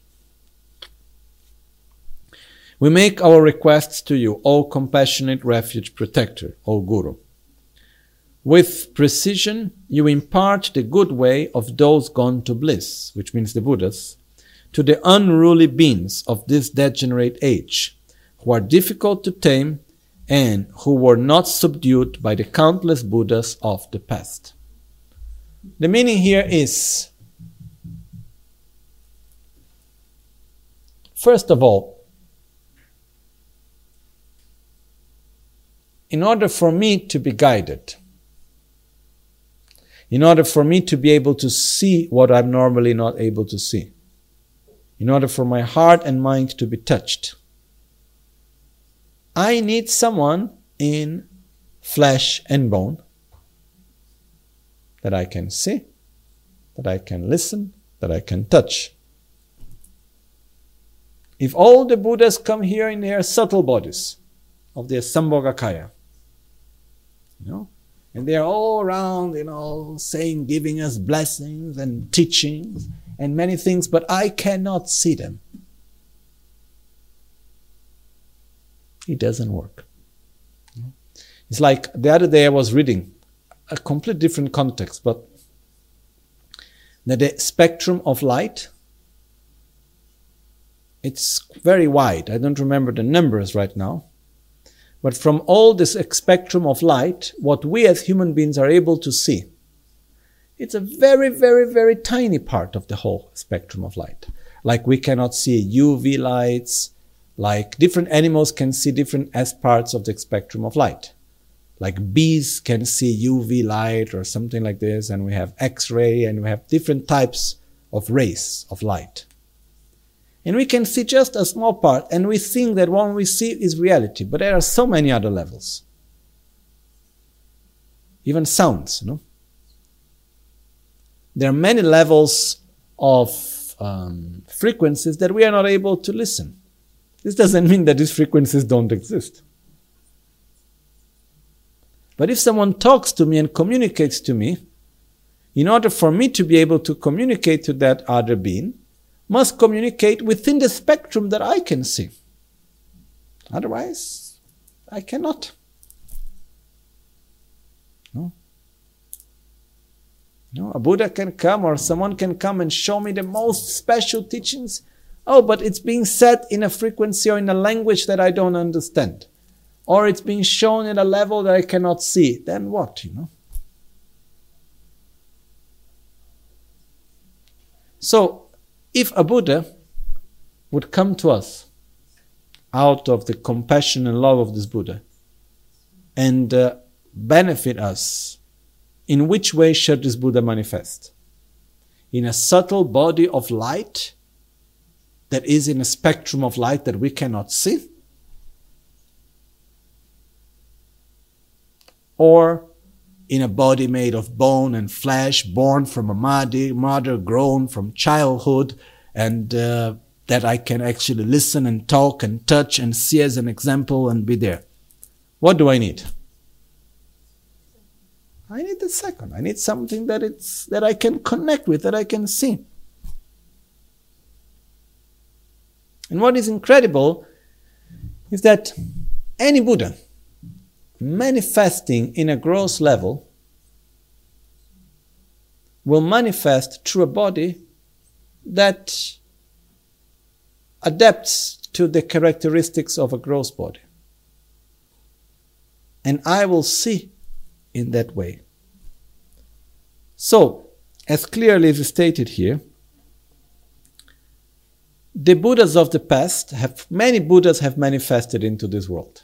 We make our requests to you, O compassionate refuge protector, O Guru. With precision, you impart the good way of those gone to bliss, which means the Buddhas, to the unruly beings of this degenerate age, who are difficult to tame and who were not subdued by the countless Buddhas of the past. The meaning here is, first of all, in order for me to be guided, in order for me to be able to see what I'm normally not able to see, in order for my heart and mind to be touched, I need someone in flesh and bone that I can see, that I can listen, that I can touch. If all the Buddhas come here in their subtle bodies of their Sambhogakaya, you know, and they're all around, you know, saying, giving us blessings and teachings and many things, but I cannot see them. It doesn't work. It's like the other day I was reading a complete different context, but that the spectrum of light, it's very wide. I don't remember the numbers right now. But from all this spectrum of light, what we as human beings are able to see, it's a very, very, very tiny part of the whole spectrum of light. Like we cannot see U V lights, like different animals can see different as parts of the spectrum of light. Like bees can see U V light or something like this, and we have X-ray, and we have different types of rays of light. And we can see just a small part, and we think that what we see is reality, but there are so many other levels. Even sounds, you know. There are many levels of um, frequencies that we are not able to listen. This doesn't mean that these frequencies don't exist. But if someone talks to me and communicates to me, in order for me to be able to communicate to that other being, must communicate within the spectrum that I can see. Otherwise, I cannot. No? No, a Buddha can come or someone can come and show me the most special teachings. Oh, but it's being said in a frequency or in a language that I don't understand. Or it's being shown at a level that I cannot see. Then what, you know? So, if a Buddha would come to us out of the compassion and love of this Buddha and uh, benefit us, in which way should this Buddha manifest? In a subtle body of light that is in a spectrum of light that we cannot see? Or in a body made of bone and flesh, born from a mother, mother grown from childhood, and uh, that I can actually listen and talk and touch and see as an example and be there. What do I need? I need the second. I need something that it's that I can connect with, that I can see. And what is incredible is that any Buddha manifesting in a gross level will manifest through a body that adapts to the characteristics of a gross body. And I will see in that way. So, as clearly as stated here, the Buddhas of the past have, many Buddhas have manifested into this world.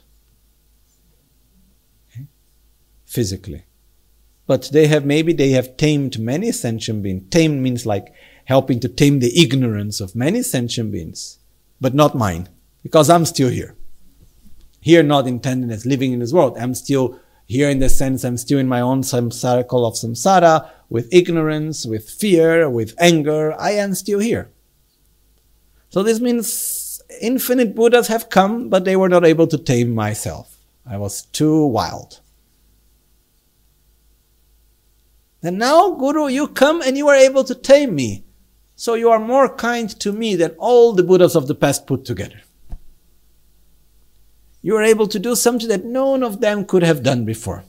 Physically. But they have, maybe they have tamed many sentient beings. Tamed means like helping to tame the ignorance of many sentient beings. But not mine. Because I'm still here. Here not intended as living in this world. I'm still here in the sense I'm still in my own circle of samsara, with ignorance, with fear, with anger. I am still here. So this means infinite Buddhas have come, but they were not able to tame myself. I was too wild. And now, Guru, you come and you are able to tame me. So you are more kind to me than all the Buddhas of the past put together. You are able to do something that none of them could have done before.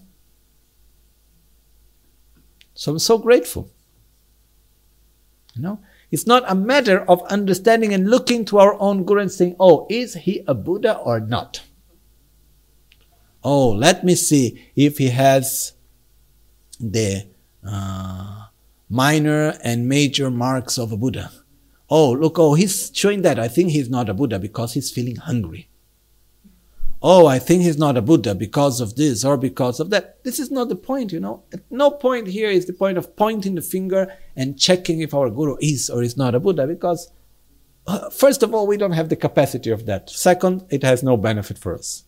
So I'm so grateful. You know, it's not a matter of understanding and looking to our own Guru and saying, oh, is he a Buddha or not? Oh, let me see if he has the Uh, minor and major marks of a Buddha. Oh, look, oh, he's showing that. I think he's not a Buddha because he's feeling hungry. Oh, I think he's not a Buddha because of this or because of that. This is not the point, you know. At no point here is the point of pointing the finger and checking if our Guru is or is not a Buddha, because uh, first of all, we don't have the capacity of that. Second, it has no benefit for us.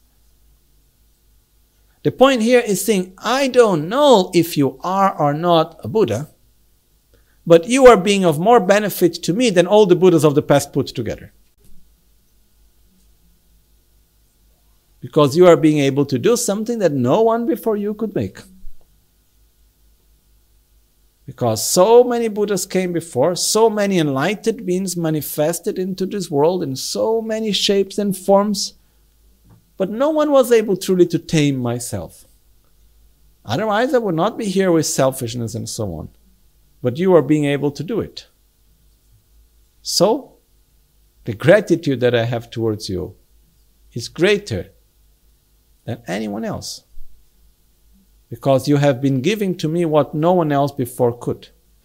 The point here is saying, I don't know if you are or not a Buddha, but you are being of more benefit to me than all the Buddhas of the past put together. Because you are being able to do something that no one before you could make. Because so many Buddhas came before, so many enlightened beings manifested into this world in so many shapes and forms, but no one was able truly to tame myself. Otherwise, I would not be here with selfishness and so on. But you are being able to do it. So, the gratitude that I have towards you is greater than anyone else. Because you have been giving to me what no one else before could.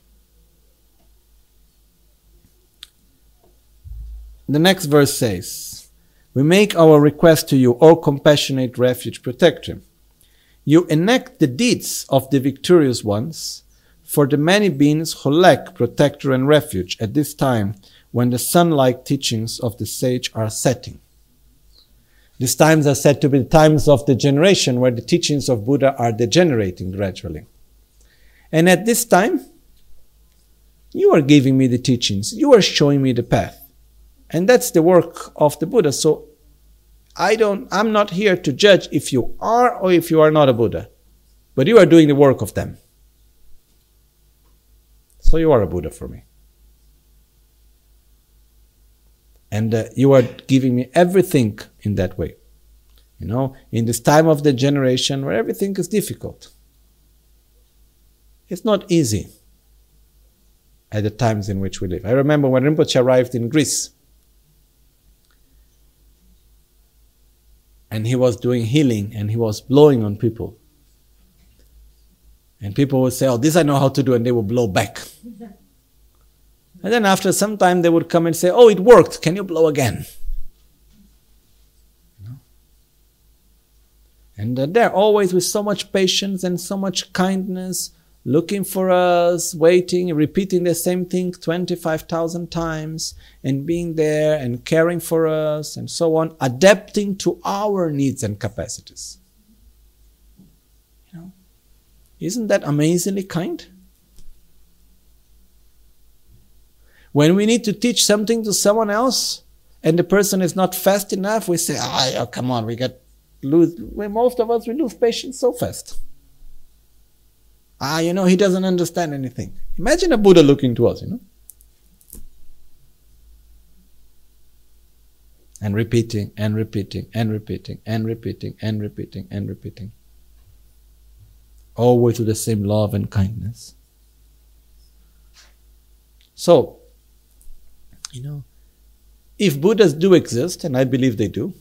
The next verse says, "We make our request to you, O compassionate refuge protector. You enact the deeds of the victorious ones for the many beings who lack protector and refuge at this time when the sun-like teachings of the sage are setting." These times are said to be the times of degeneration, where the teachings of Buddha are degenerating gradually. And at this time, you are giving me the teachings, you are showing me the path. And that's the work of the Buddha. So I don't, I'm not here to judge if you are or if you are not a Buddha. But you are doing the work of them. So you are a Buddha for me. And uh, you are giving me everything in that way. You know, in this time of degeneration where everything is difficult. It's not easy at the times in which we live. I remember when Rinpoche arrived in Greece. And he was doing healing and he was blowing on people. And people would say, "Oh, this I know how to do," and they would blow back. And then after some time they would come and say, "Oh, it worked, can you blow again?" You know? And uh, they're always with so much patience and so much kindness, looking for us, waiting, repeating the same thing twenty-five thousand times, and being there and caring for us and so on, adapting to our needs and capacities. You know? Isn't that amazingly kind? When we need to teach something to someone else and the person is not fast enough, we say, "Ah, oh, come on, we get lose." Well, most of us, we lose patience so fast. Ah, you know, he doesn't understand anything. Imagine a Buddha looking to us, you know. And repeating, and repeating, and repeating, and repeating, and repeating, and repeating. Always with the same love and kindness. So, you know, if Buddhas do exist, and I believe they do,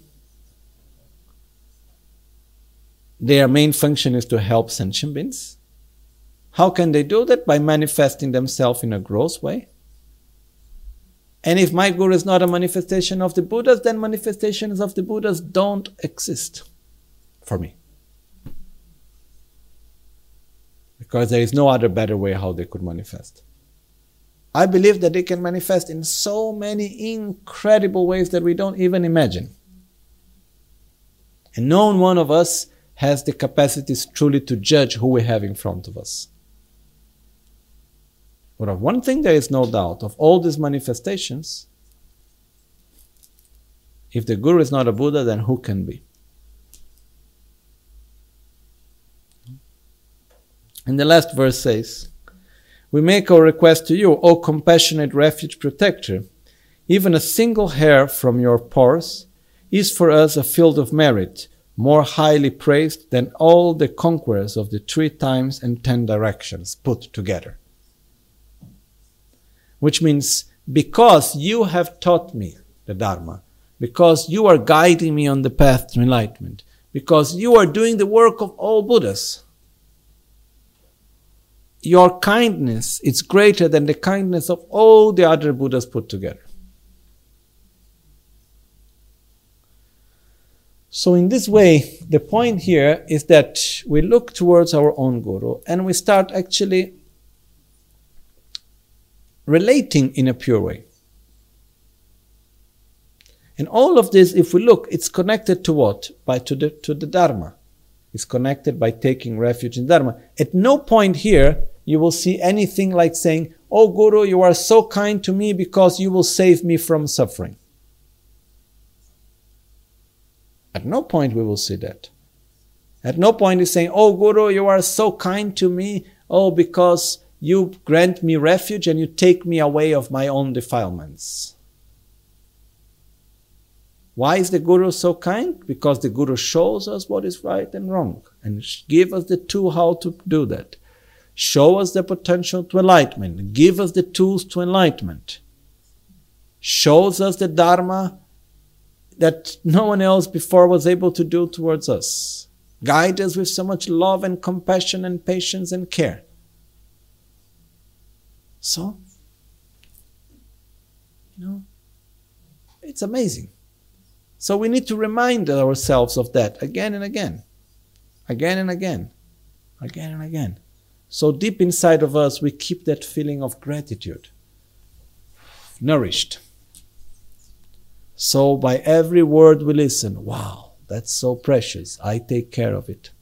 their main function is to help sentient beings. How can they do that? By manifesting themselves in a gross way. And if my Guru is not a manifestation of the Buddhas, then manifestations of the Buddhas don't exist for me. Because there is no other better way how they could manifest. I believe that they can manifest in so many incredible ways that we don't even imagine. And no one of us has the capacities truly to judge who we have in front of us. But of one thing there is no doubt, of all these manifestations, if the Guru is not a Buddha, then who can be? And the last verse says, "We make our request to you, O compassionate refuge protector. Even a single hair from your pores is for us a field of merit, more highly praised than all the conquerors of the three times and ten directions put together." Which means, because you have taught me the Dharma, because you are guiding me on the path to enlightenment, because you are doing the work of all Buddhas, your kindness is greater than the kindness of all the other Buddhas put together. So in this way, the point here is that we look towards our own Guru and we start actually relating in a pure way. And all of this, if we look, it's connected to what? By to the to the Dharma. It's connected by taking refuge in Dharma. At no point here you will see anything like saying, "Oh Guru, you are so kind to me because you will save me from suffering." At no point we will see that. At no point is saying, oh Guru, you are so kind to me, oh, because you grant me refuge and you take me away of my own defilements. Why is the Guru so kind? Because the Guru shows us what is right and wrong and give us the tool how to do that. Show us the potential to enlightenment. Give us the tools to enlightenment. Shows us the Dharma that no one else before was able to do towards us. Guide us with so much love and compassion and patience and care. So, you know, it's amazing. So we need to remind ourselves of that again and again. Again and again. Again and again. So deep inside of us, we keep that feeling of gratitude. Nourished. So by every word we listen, wow, that's so precious. I take care of it.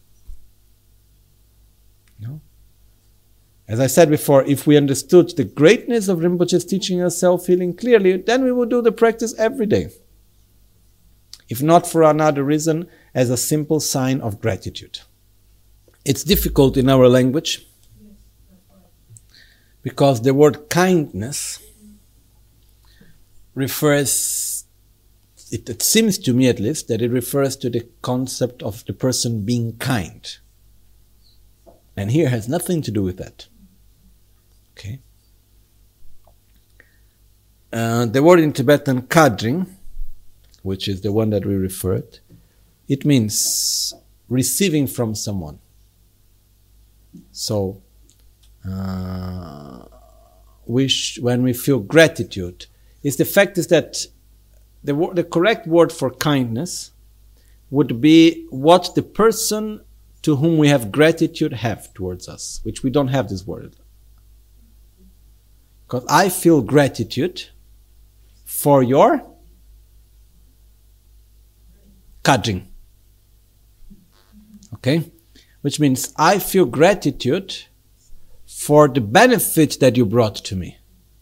No? As I said before, if we understood the greatness of Rinpoche's teaching us self-healing clearly, then we would do the practice every day. If not for another reason, as a simple sign of gratitude. It's difficult in our language because the word kindness refers, it, it seems to me at least, that it refers to the concept of the person being kind. And here has nothing to do with that. Okay. Uh, the word in Tibetan, kadring, which is the one that we referred, it means receiving from someone. So, uh, we sh- when we feel gratitude, is the fact is that the, wo- the correct word for kindness would be what the person to whom we have gratitude have towards us, which we don't have this word. Because I feel gratitude for your kadring. Okay? Which means I feel gratitude for the benefit that you brought to me.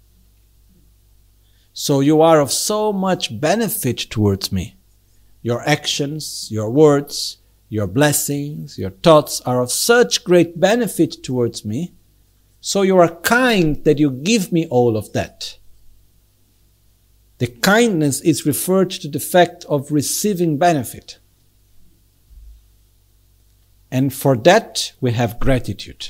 So you are of so much benefit towards me. Your actions, your words, your blessings, your thoughts are of such great benefit towards me. So you are kind that you give me all of that. The kindness is referred to the fact of receiving benefit. And for that, we have gratitude.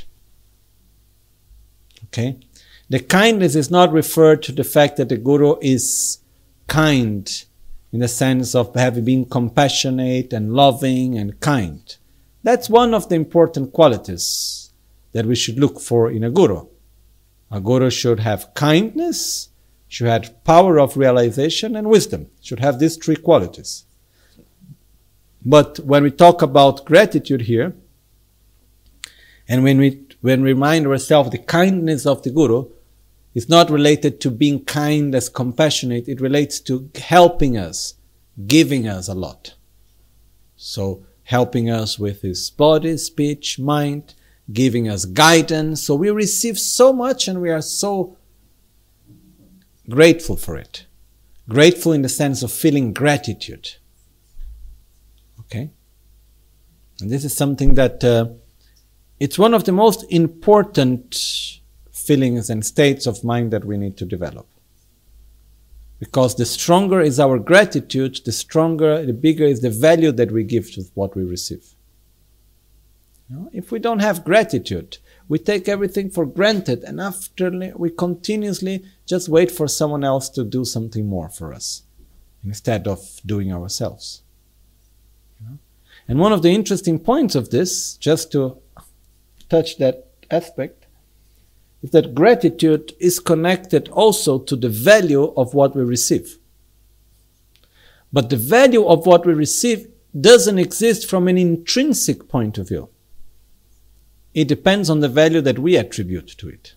Okay? The kindness is not referred to the fact that the Guru is kind in the sense of having been compassionate and loving and kind. That's one of the important qualities that we should look for in a Guru. A Guru should have kindness, should have power of realization and wisdom. Should have these three qualities. But when we talk about gratitude here, and when we when we remind ourselves the kindness of the Guru, it's not related to being kind as compassionate, it relates to helping us, giving us a lot. So helping us with his body, speech, mind, giving us guidance. So we receive so much and we are so grateful for it. Grateful in the sense of feeling gratitude. Okay? And this is something that uh, it's one of the most important feelings and states of mind that we need to develop. Because the stronger is our gratitude, the stronger, the bigger is the value that we give to what we receive. You know, if we don't have gratitude, we take everything for granted and after we continuously just wait for someone else to do something more for us instead of doing ourselves. You know? And one of the interesting points of this, just to touch that aspect, is that gratitude is connected also to the value of what we receive. But the value of what we receive doesn't exist from an intrinsic point of view. It depends on the value that we attribute to it.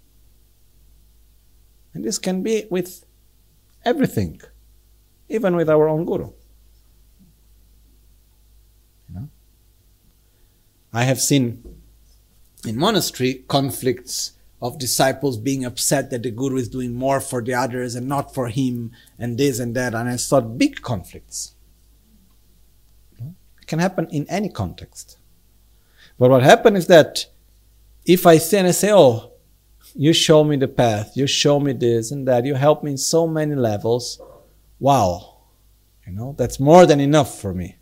And this can be with everything, even with our own Guru. You know? I have seen in monastery conflicts of disciples being upset that the Guru is doing more for the others and not for him and this and that. And I saw big conflicts. can happen in any context. But what happens is that if I say and I say, oh, you show me the path, you show me this and that, you help me in so many levels, wow, you know, that's more than enough for me.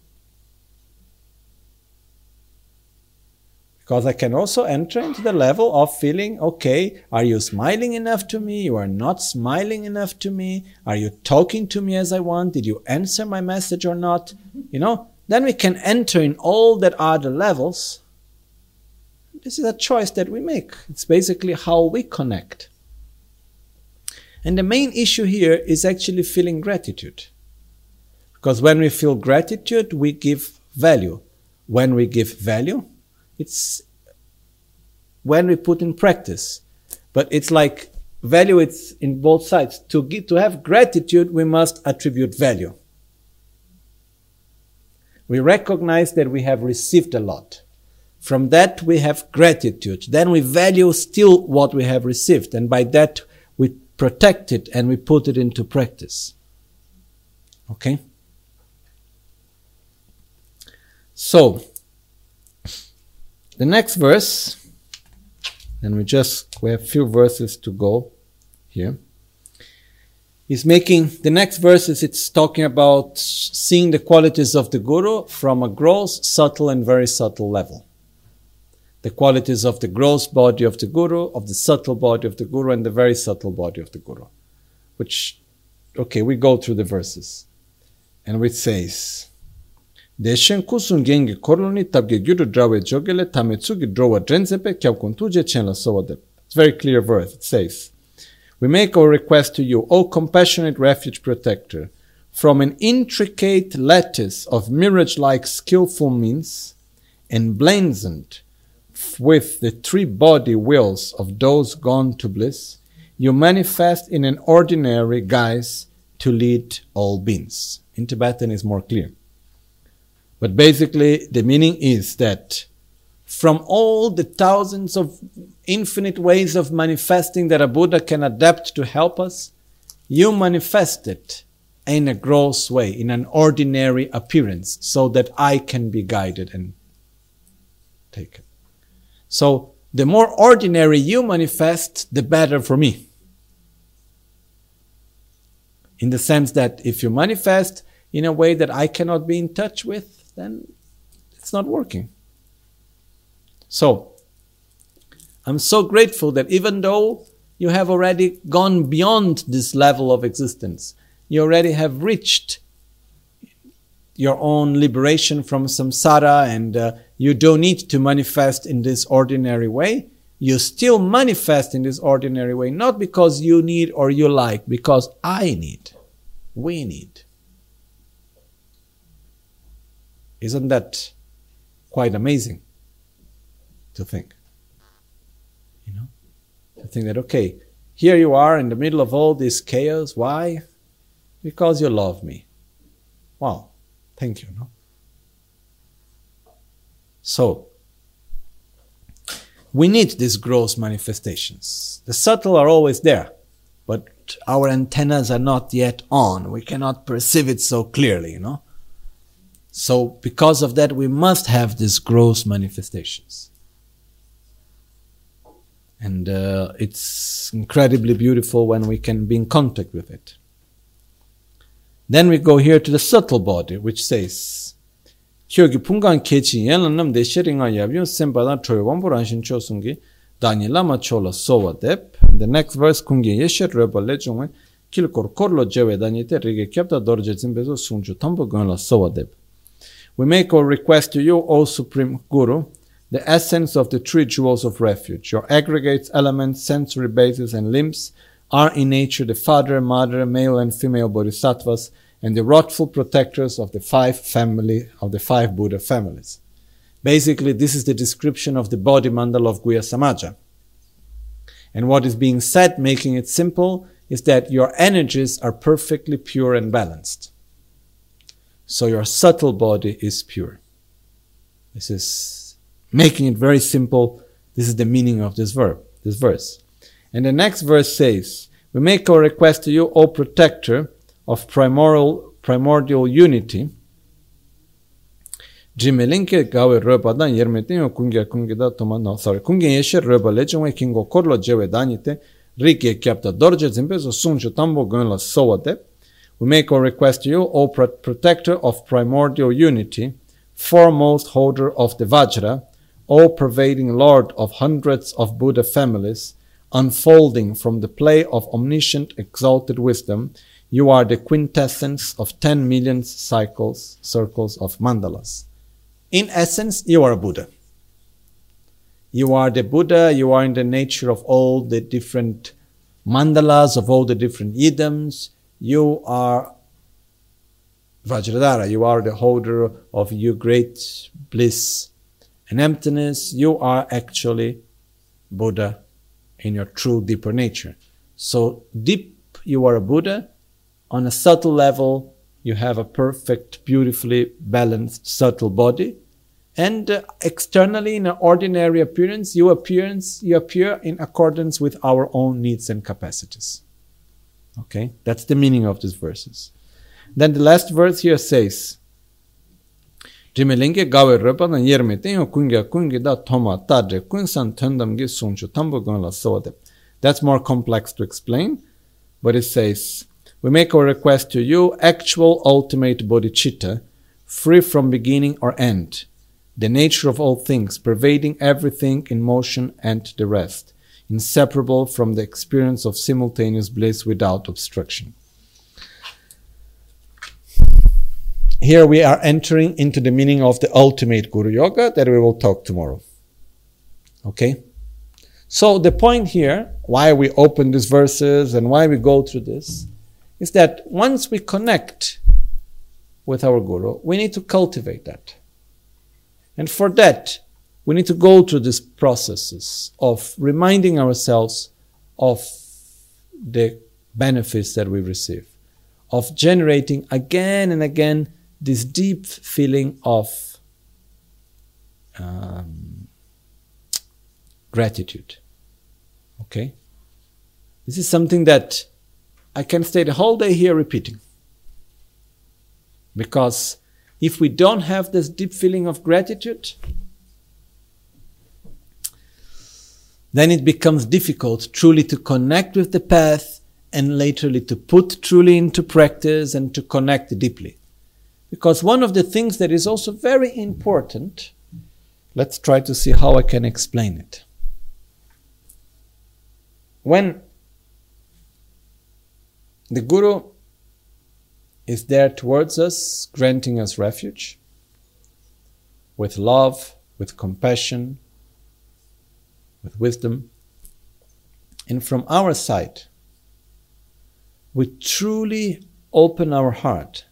Because I can also enter into the level of feeling, okay, are you smiling enough to me? You are not smiling enough to me. Are you talking to me as I want? Did you answer my message or not? You know, then we can enter in all that are the levels. This is a choice that we make. It's basically how we connect. And the main issue here is actually feeling gratitude. Because when we feel gratitude, we give value. When we give value, it's when we put in practice. But it's like value, it's in both sides. To give, to have gratitude, we must attribute value. We recognize that we have received a lot. From that, we have gratitude. Then we value still what we have received. And by that, we protect it and we put it into practice. Okay? So, the next verse, and we just, we have a few verses to go here, is making, the next verses, it's talking about seeing the qualities of the Guru from a gross, subtle, and very subtle level. The qualities of the gross body of the Guru, of the subtle body of the Guru, and the very subtle body of the Guru. Which, okay, we go through the verses. And it says, Deshen kusun gengi korloni tabge gyuru drawe jogele tametsugi drowa drenzepe kyabkuntuje chenla sowade. It's a very clear verse. It says, we make our request to you, O compassionate refuge protector, from an intricate lattice of mirage-like skillful means, emblazoned with the three body wills of those gone to bliss, you manifest in an ordinary guise to lead all beings. In Tibetan is more clear. But basically, the meaning is that from all the thousands of infinite ways of manifesting that a Buddha can adapt to help us, you manifest it in a gross way, in an ordinary appearance, so that I can be guided and taken. So, the more ordinary you manifest, the better for me. In the sense that if you manifest in a way that I cannot be in touch with, then it's not working. So, I'm so grateful that even though you have already gone beyond this level of existence, you already have reached your own liberation from samsara, and uh, you don't need to manifest in this ordinary way. You still manifest in this ordinary way, not because you need or you like, because I need, we need. Isn't that quite amazing to think? You know, to think that, okay, here you are in the middle of all this chaos. Why? Because you love me. Wow, thank you. No? So, we need these gross manifestations. The subtle are always there, but our antennas are not yet on. We cannot perceive it so clearly, you know. So, because of that, we must have these gross manifestations. And uh, it's incredibly beautiful when we can be in contact with it. Then we go here to the subtle body, which says, Kyogi pungan kechi yelanam de sheringa yabyon sembada troyawamburan chosungi dani lama chola sowa dep. The next verse kungi yeshet reba lejungwe kilkor korlo jewe danite rige kyapta dorje zimbezo sunju tambo gonla sowa dep. We make our request to you, O Supreme Guru, the essence of the three jewels of refuge. Your aggregates, elements, sensory bases, and limbs are in nature the father, mother, male and female bodhisattvas, and the wrathful protectors of the five family of the five Buddha families. Basically, this is the description of the body mandala of Guhya Samaja. And what is being said, making it simple, is that your energies are perfectly pure and balanced. So your subtle body is pure. This is making it very simple. This is the meaning of this verb, this verse. And the next verse says, we make our request to you, O protector of primordial, primordial unity, Jimelinke gawe roba dan yermetin kunge kunge da toma no sorry kunge yeshe roba lechwe kingo korlo jewe danite rike kyapta dorje zimbezo sunju tambo gunla sowade. We make our request to you, O protector of primordial unity, foremost holder of the Vajra, O pervading Lord of hundreds of Buddha families, unfolding from the play of omniscient exalted wisdom, you are the quintessence of ten million cycles, circles of mandalas. In essence, you are a Buddha. You are the Buddha, you are in the nature of all the different mandalas, of all the different yidams. You are Vajradhara, you are the holder of your great bliss and emptiness. You are actually Buddha in your true deeper nature. So deep you are a Buddha. On a subtle level you have a perfect, beautifully balanced, subtle body. And uh, externally in an ordinary appearance, you appearance you appear in accordance with our own needs and capacities. Okay, that's the meaning of these verses. Then the last verse here says, Jimelinge gawe roba na yermeten kunga kungi da toma tadre kunsan tundam gi sunchu tambo gonla sode. That's more complex to explain, but it says, we make our request to you, actual ultimate bodhicitta, free from beginning or end, the nature of all things, pervading everything in motion and the rest, inseparable from the experience of simultaneous bliss without obstruction. Here we are entering into the meaning of the ultimate Guru Yoga that we will talk tomorrow. Okay? So the point here, why we open these verses and why we go through this, is that once we connect with our Guru, we need to cultivate that. And for that, we need to go through these processes of reminding ourselves of the benefits that we receive, of generating again and again this deep feeling of um, gratitude. Okay? This is something that I can stay the whole day here repeating. Because if we don't have this deep feeling of gratitude, then it becomes difficult truly to connect with the path and laterly to put truly into practice and to connect deeply. Because one of the things that is also very important, let's try to see how I can explain it. When the Guru is there towards us, granting us refuge, with love, with compassion, with wisdom, and from our side, we truly open our heart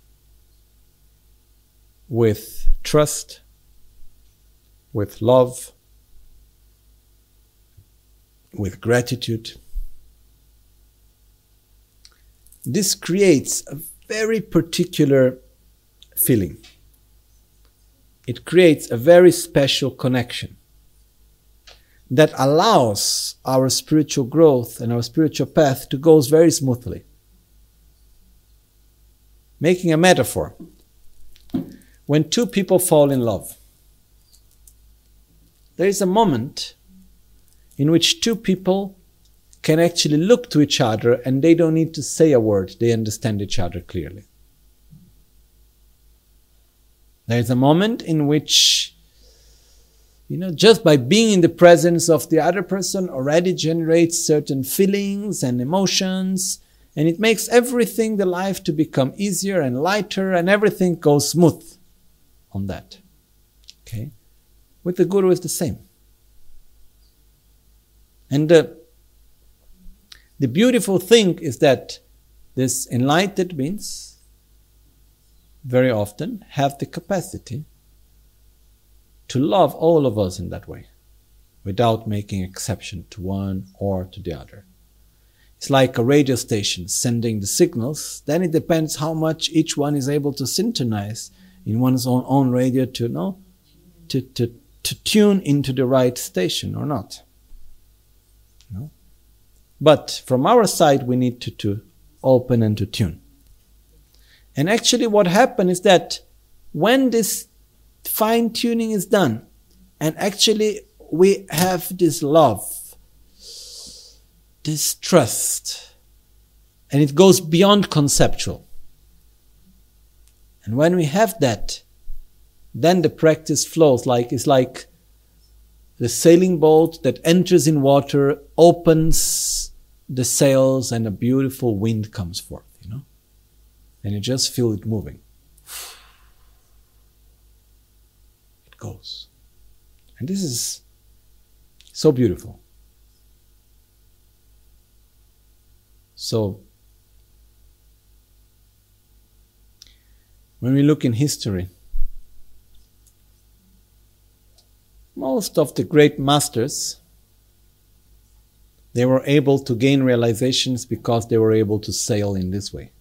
with trust, with love, with gratitude. This creates a very particular feeling. It creates a very special connection that allows our spiritual growth and our spiritual path to go very smoothly. Making a metaphor, when two people fall in love, there is a moment in which two people can actually look to each other and they don't need to say a word, they understand each other clearly. There is a moment in which, you know, just by being in the presence of the other person already generates certain feelings and emotions, and it makes everything, the life, to become easier and lighter, and everything goes smooth on that. Okay? With the Guru, it's the same. And uh, the beautiful thing is that this enlightened beings very often have the capacity to love all of us in that way, without making exception to one or to the other. It's like a radio station sending the signals. Then it depends how much each one is able to synchronize in one's own, own radio to know, to, to, to tune into the right station or not. No? But from our side, we need to, to open and to tune. And actually what happened is that when this fine-tuning is done. And actually, we have this love, this trust, and it goes beyond conceptual. And when we have that, then the practice flows like it's like the sailing boat that enters in water, opens the sails, and a beautiful wind comes forth, you know? And you just feel it moving. It goes. And this is so beautiful. So, when we look in history, most of the great masters, they were able to gain realizations because they were able to sail in this way.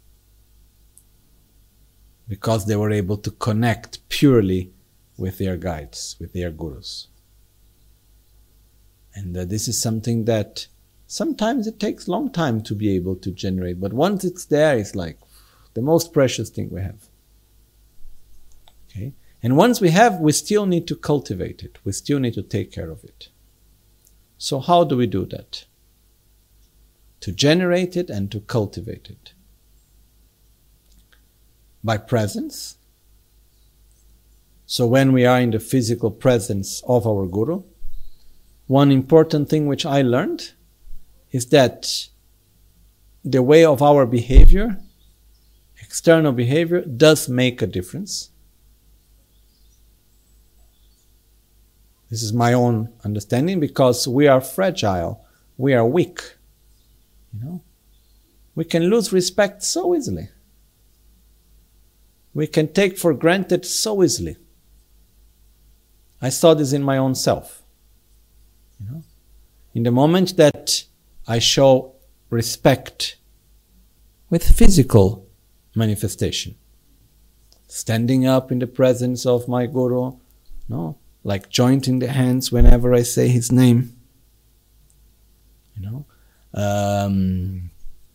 Because they were able to connect purely with their guides, with their gurus. And uh, this is something that sometimes it takes a long time to be able to generate, but once it's there, it's like the most precious thing we have. Okay? And once we have, we still need to cultivate it. We still need to take care of it. So how do we do that? To generate it and to cultivate it. By presence. So when we are in the physical presence of our Guru, one important thing which I learned is that the way of our behavior, external behavior, does make a difference. This is my own understanding, because we are fragile, we are weak. You know, we can lose respect so easily. We can take for granted so easily. I saw this in my own self. You know, in the moment that I show respect with physical manifestation, standing up in the presence of my Guru, no, like jointing the hands whenever I say his name, you know, um,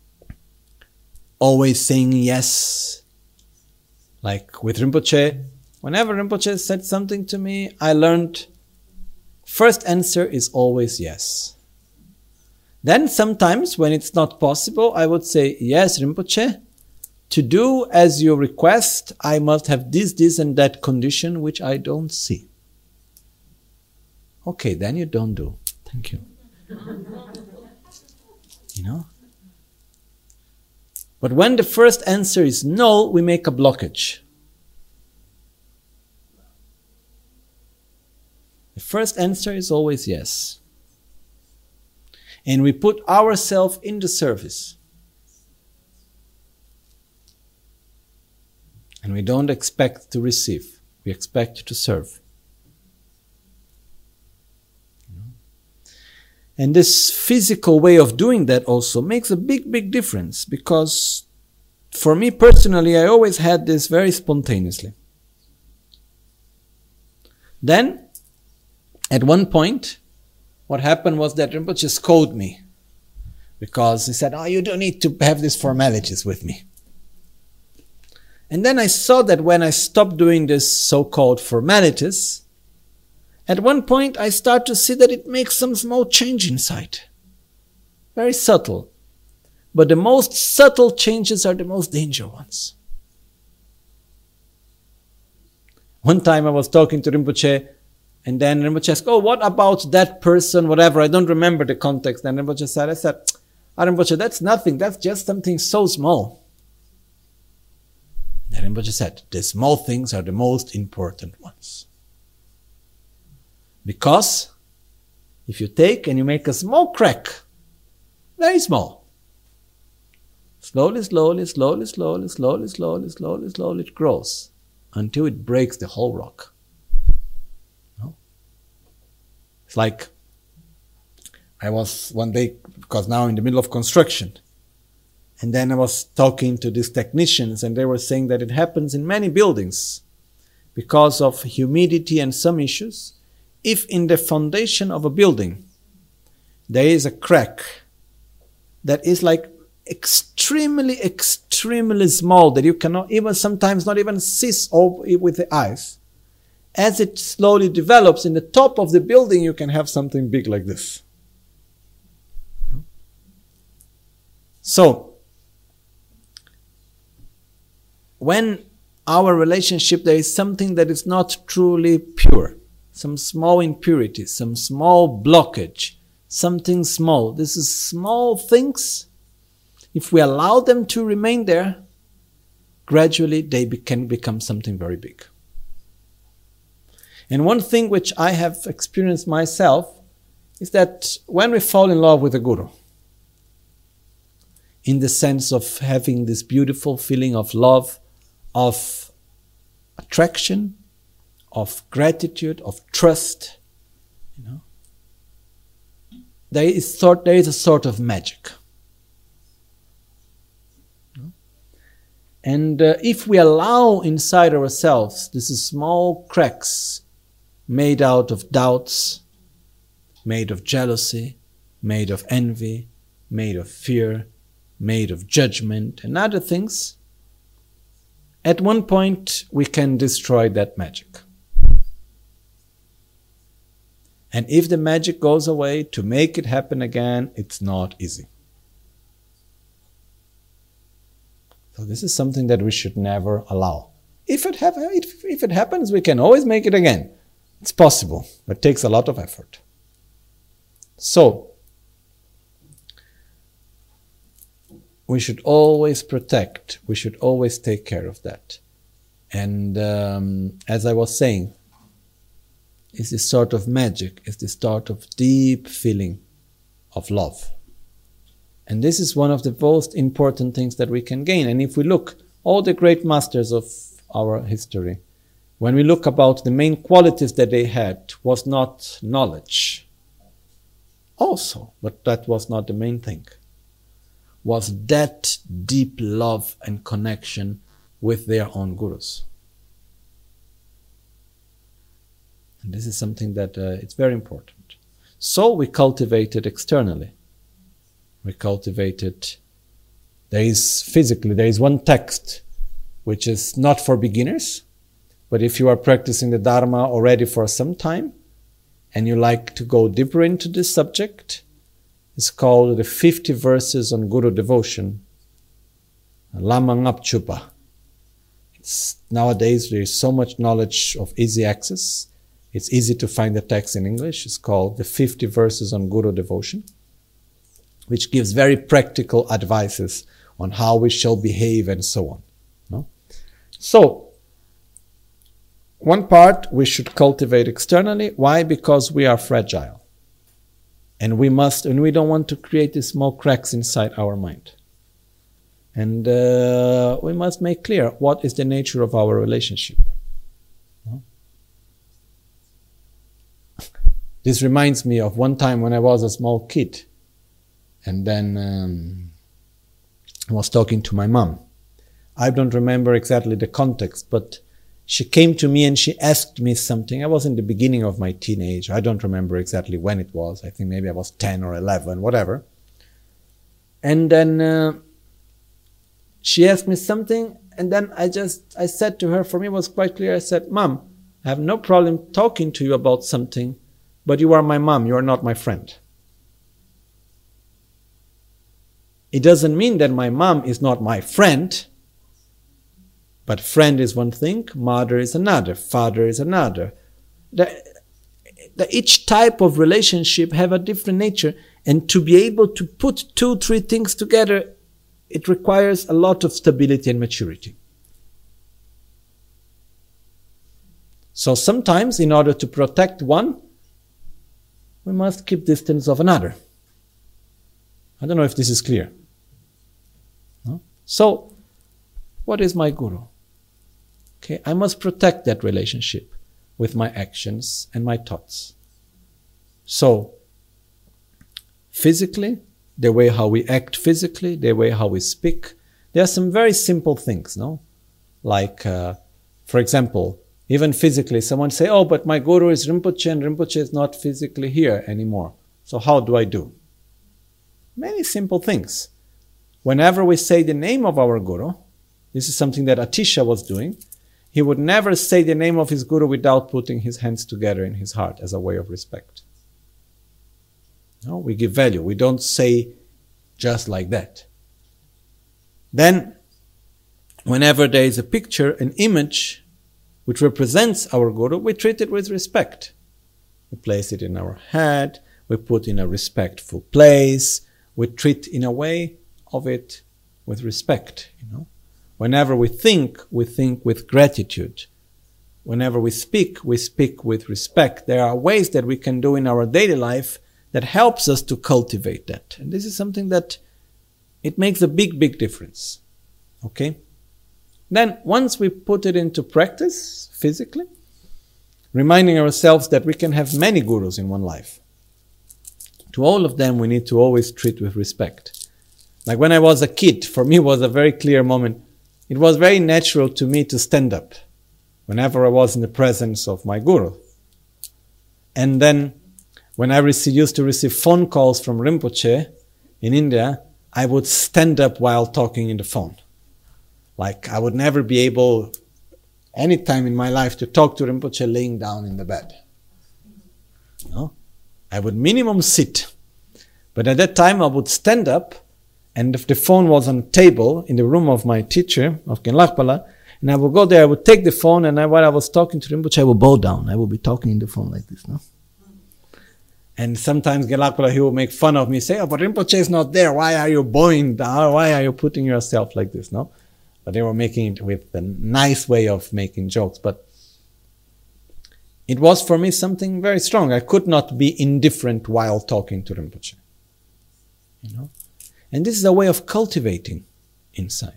always saying yes, like with Rinpoche. Whenever Rinpoche said something to me, I learned first answer is always yes. Then sometimes when it's not possible, I would say, yes, Rinpoche, to do as you request, I must have this, this and that condition which I don't see. Okay, then you don't do. Thank you. You know? But when the first answer is no, we make a blockage. The first answer is always yes. And we put ourselves in the service. And we don't expect to receive. We expect to serve. You know? And this physical way of doing that also makes a big, big difference. Because for me personally, I always had this very spontaneously. Then, at one point, what happened was that Rinpoche scolded me. Because he said, oh, you don't need to have these formalities with me. And then I saw that when I stopped doing this so-called formalities, at one point I start to see that it makes some small change inside. Very subtle. But the most subtle changes are the most dangerous ones. One time I was talking to Rinpoche, and then Rinpoche asked, oh, what about that person, whatever, I don't remember the context. And Rinpoche said, I said, ah, Rinpoche, that's nothing, that's just something so small. And Rinpoche said, the small things are the most important ones. Because if you take and you make a small crack, very small, slowly, slowly, slowly, slowly, slowly, slowly, slowly, slowly, it grows until it breaks the whole rock. It's like, I was one day, because now in the middle of construction, and then I was talking to these technicians, and they were saying that it happens in many buildings because of humidity and some issues. If in the foundation of a building there is a crack that is like extremely, extremely small, that you cannot even sometimes not even see with the eyes, as it slowly develops, in the top of the building you can have something big like this. So, when our relationship, there is something that is not truly pure, some small impurity, some small blockage, something small. This is small things. If we allow them to remain there, gradually they be- can become something very big. And one thing which I have experienced myself is that when we fall in love with a guru, in the sense of having this beautiful feeling of love, of attraction, of gratitude, of trust, you know, there is sort there is a sort of magic. And uh, if we allow inside ourselves these small cracks made out of doubts, made of jealousy, made of envy, made of fear, made of judgment and other things, at one point we can destroy that magic. And if the magic goes away, to make it happen again, it's not easy. So this is something that we should never allow. If it, have, if, if it happens, we can always make it again. It's possible, but it takes a lot of effort. So, we should always protect, we should always take care of that. And um, as I was saying, it's this sort of magic, it's this sort of deep feeling of love. And this is one of the most important things that we can gain. And if we look, all the great masters of our history, when we look about the main qualities that they had, was not knowledge. Also, but that was not the main thing. Was that deep love and connection with their own gurus. And this is something that uh, it's very important. So we cultivated externally. We cultivated, there is physically, there is one text which is not for beginners, but if you are practicing the Dharma already for some time and you like to go deeper into this subject, it's called the fifty verses on Guru devotion, Lama Ngapchupa. It's, nowadays there is so much knowledge of easy access. It's easy to find the text in English. It's called the fifty verses on Guru devotion, which gives very practical advices on how we shall behave and so on. No? So, one part we should cultivate externally. Why? Because we are fragile. And we must, and we don't want to create these small cracks inside our mind. And uh, we must make clear what is the nature of our relationship. No? This reminds me of one time when I was a small kid. And then um, I was talking to my mom. I don't remember exactly the context, but she came to me and she asked me something. I was in the beginning of my teenage. I don't remember exactly when it was. I think maybe I was ten or eleven, whatever. And then uh, she asked me something, and then I just, I said to her, for me it was quite clear. I said, Mom, I have no problem talking to you about something, but you are my mom, you are not my friend. It doesn't mean that my mom is not my friend, but friend is one thing, mother is another, father is another. The, the, each type of relationship have a different nature, and to be able to put two, three things together, it requires a lot of stability and maturity. So sometimes, in order to protect one, we must keep distance of another. I don't know if this is clear. No? So, what is my guru? Okay, I must protect that relationship with my actions and my thoughts. So, physically, the way how we act physically, the way how we speak, there are some very simple things, no? Like, uh, for example, even physically, someone say, oh, but my guru is Rinpoche and Rinpoche is not physically here anymore. So how do I do? Many simple things. Whenever we say the name of our guru, this is something that Atisha was doing, he would never say the name of his guru without putting his hands together in his heart as a way of respect. No, we give value. We don't say just like that. Then, whenever there is a picture, an image which represents our guru, we treat it with respect. We place it in our head, we put in a respectful place, we treat in a way of it with respect, you know. Whenever we think, we think with gratitude. Whenever we speak, we speak with respect. There are ways that we can do in our daily life that helps us to cultivate that. And this is something that it makes a big, big difference. Okay? Then, once we put it into practice, physically, reminding ourselves that we can have many gurus in one life. To all of them, we need to always treat with respect. Like when I was a kid, for me it was a very clear moment. It was very natural to me to stand up whenever I was in the presence of my guru. And then, when I received, used to receive phone calls from Rinpoche in India, I would stand up while talking in the phone. Like I would never be able, any time in my life, to talk to Rinpoche laying down in the bed. No? I would minimum sit. But at that time I would stand up, and if the phone was on the table in the room of my teacher, of Genlakpala, and I would go there, I would take the phone, and I, while I was talking to Rinpoche, I would bow down. I would be talking in the phone like this, no? And sometimes Genlakpala, he would make fun of me, say, oh, but Rinpoche is not there. Why are you bowing down? Why are you putting yourself like this, no? But they were making it with a nice way of making jokes. But it was for me something very strong. I could not be indifferent while talking to Rinpoche. You know? And this is a way of cultivating inside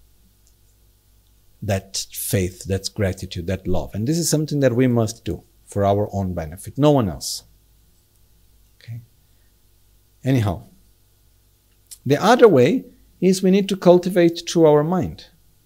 that faith, that gratitude, that love. And this is something that we must do for our own benefit, no one else. Okay? Anyhow, the other way is we need to cultivate through our mind.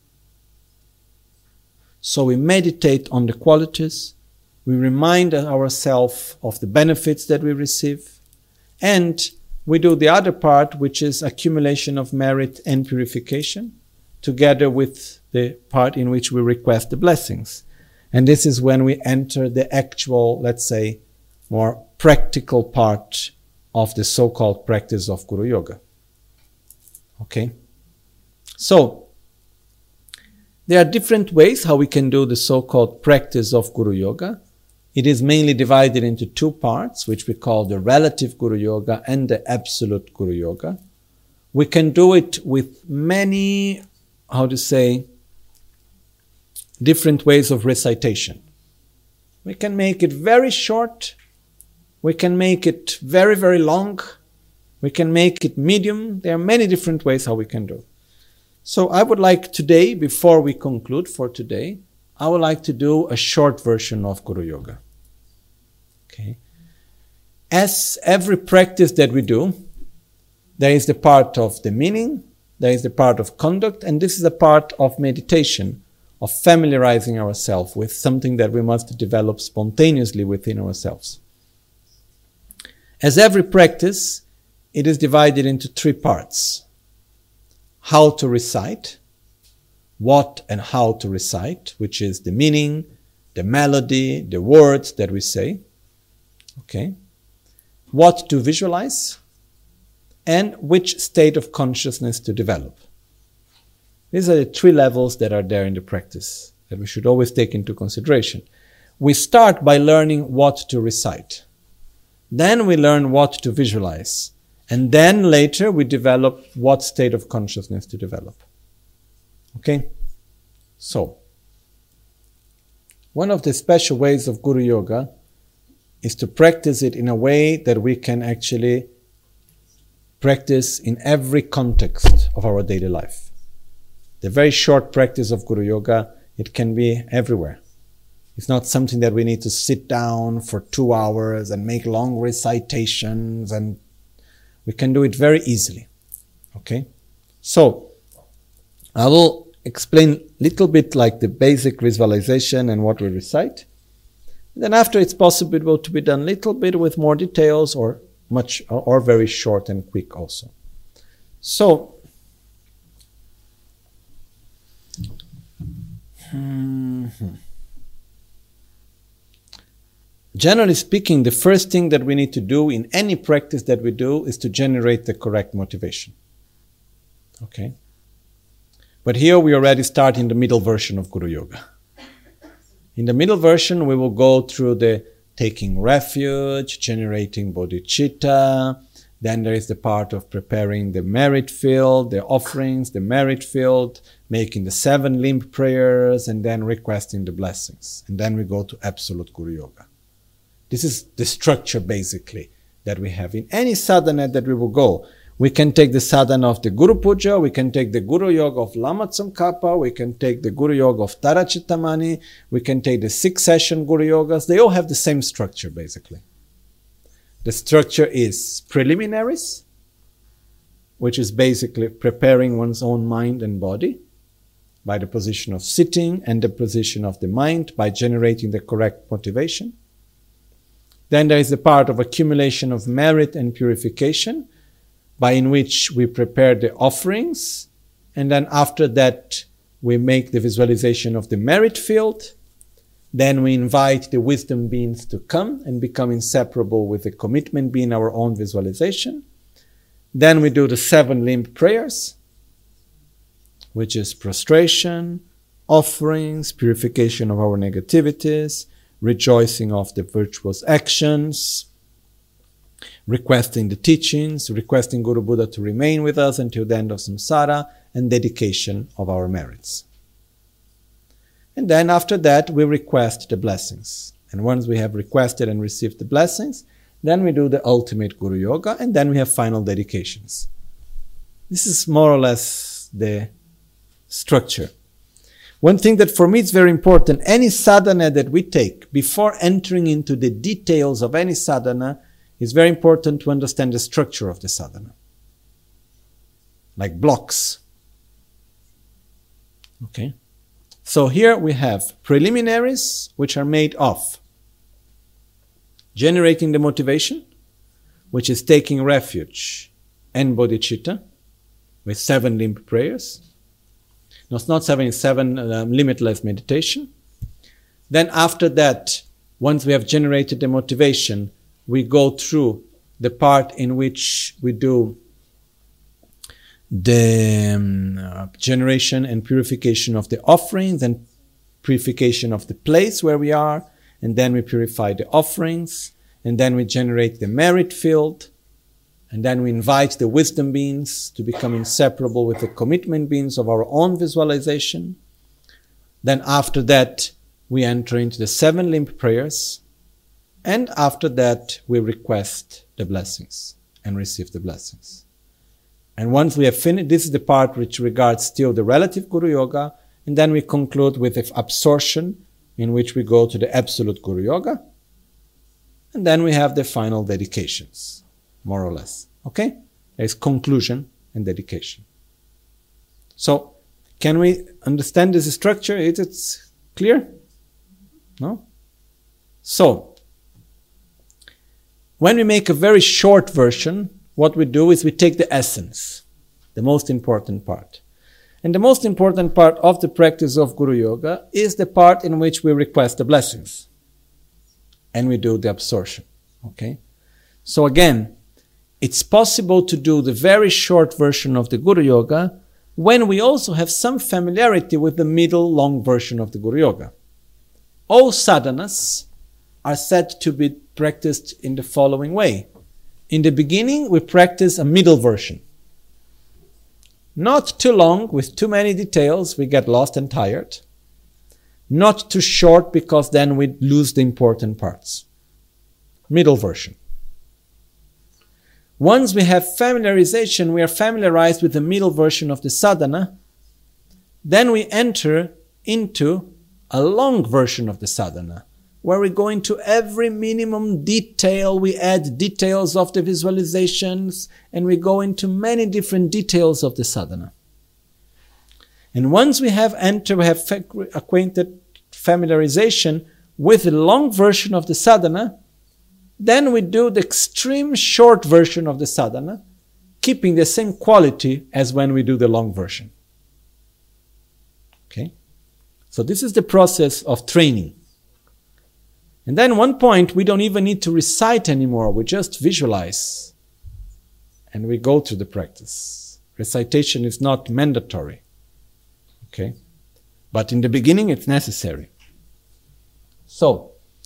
So we meditate on the qualities, we remind ourselves of the benefits that we receive, and we do the other part, which is accumulation of merit and purification, together with the part in which we request the blessings. And this is when we enter the actual, let's say, more practical part of the so-called practice of Guru Yoga. Okay? So, there are different ways how we can do the so-called practice of Guru Yoga. It is mainly divided into two parts, which we call the relative Guru Yoga and the absolute Guru Yoga. We can do it with many, how to say, different ways of recitation. We can make it very short. We can make it very, very long. We can make it medium. There are many different ways how we can do. So I would like today, before we conclude for today, I would like to do a short version of Guru Yoga. Okay. As every practice that we do, there is the part of the meaning, there is the part of conduct, and this is a part of meditation, of familiarizing ourselves with something that we must develop spontaneously within ourselves. As every practice, it is divided into three parts. How to recite, what and how to recite, which is the meaning, the melody, the words that we say. Okay. What to visualize, and which state of consciousness to develop. These are the three levels that are there in the practice that we should always take into consideration. We start by learning what to recite. Then we learn what to visualize. And then later we develop what state of consciousness to develop. Okay? So, one of the special ways of Guru Yoga is to practice it in a way that we can actually practice in every context of our daily life. The very short practice of Guru Yoga, it can be everywhere. It's not something that we need to sit down for two hours and make long recitations, and we can do it very easily. Okay? So, I will explain a little bit like the basic visualization and what we recite. Then after it's possible to be done a little bit with more details or much or, or very short and quick also. So, hmm, Mm-hmm. Generally speaking, the first thing that we need to do in any practice that we do is to generate the correct motivation. Okay? But here we already start in the middle version of Guru Yoga. In the middle version, we will go through the taking refuge, generating bodhicitta. Then there is the part of preparing the merit field, the offerings, the merit field, making the seven limb prayers, and then requesting the blessings. And then we go to absolute Guru Yoga. This is the structure, basically, that we have. In any sadhana that we will go, we can take the sadhana of the Guru Puja, we can take the Guru Yoga of Lama Tsongkhapa, we can take the Guru Yoga of Tara Chittamani, we can take the six session Guru Yogas. They all have the same structure, basically. The structure is preliminaries, which is basically preparing one's own mind and body by the position of sitting and the position of the mind by generating the correct motivation. Then there is the part of accumulation of merit and purification, by in which we prepare the offerings, and then after that we make the visualization of the merit field. Then we invite the wisdom beings to come and become inseparable with the commitment being our own visualization. Then we do the seven limb prayers, which is prostration, offerings, purification of our negativities, rejoicing of the virtuous actions, requesting the teachings, requesting Guru Buddha to remain with us until the end of samsara, and dedication of our merits. And then after that, we request the blessings. And once we have requested and received the blessings, then we do the ultimate Guru Yoga, and then we have final dedications. This is more or less the structure. One thing that for me is very important, any sadhana that we take, before entering into the details of any sadhana, it's very important to understand the structure of the sadhana. Like blocks. Okay? So here we have preliminaries, which are made of generating the motivation, which is taking refuge and bodhicitta, with seven limb prayers. No, it's not seven, it's seven uh, limitless meditation. Then after that, once we have generated the motivation, we go through the part in which we do the um, uh, generation and purification of the offerings and purification of the place where we are, and then we purify the offerings, and then we generate the merit field, and then we invite the wisdom beings to become inseparable with the commitment beings of our own visualization. Then after that, we enter into the seven limb prayers, and after that, we request the blessings and receive the blessings. And once we have finished, this is the part which regards still the relative Guru Yoga, and then we conclude with the absorption, in which we go to the absolute Guru Yoga, and then we have the final dedications, more or less. Okay? There's conclusion and dedication. So, can we understand this structure? Is it clear? No? So, when we make a very short version, what we do is we take the essence, the most important part. And the most important part of the practice of Guru Yoga is the part in which we request the blessings. And we do the absorption. Okay? So again, it's possible to do the very short version of the Guru Yoga when we also have some familiarity with the middle long version of the Guru Yoga. All sadhanas are said to be practiced in the following way. In the beginning, we practice a middle version. Not too long, with too many details, we get lost and tired. Not too short, because then we lose the important parts. Middle version. Once we have familiarization, we are familiarized with the middle version of the sadhana, then we enter into a long version of the sadhana, where we go into every minimum detail, we add details of the visualizations, and we go into many different details of the sadhana. And once we have entered, we have acquainted familiarization with the long version of the sadhana, then we do the extreme short version of the sadhana, keeping the same quality as when we do the long version. Okay? So this is the process of training. And then one point, we don't even need to recite anymore. We just visualize. And we go through the practice. Recitation is not mandatory. Okay? But in the beginning, it's necessary. So,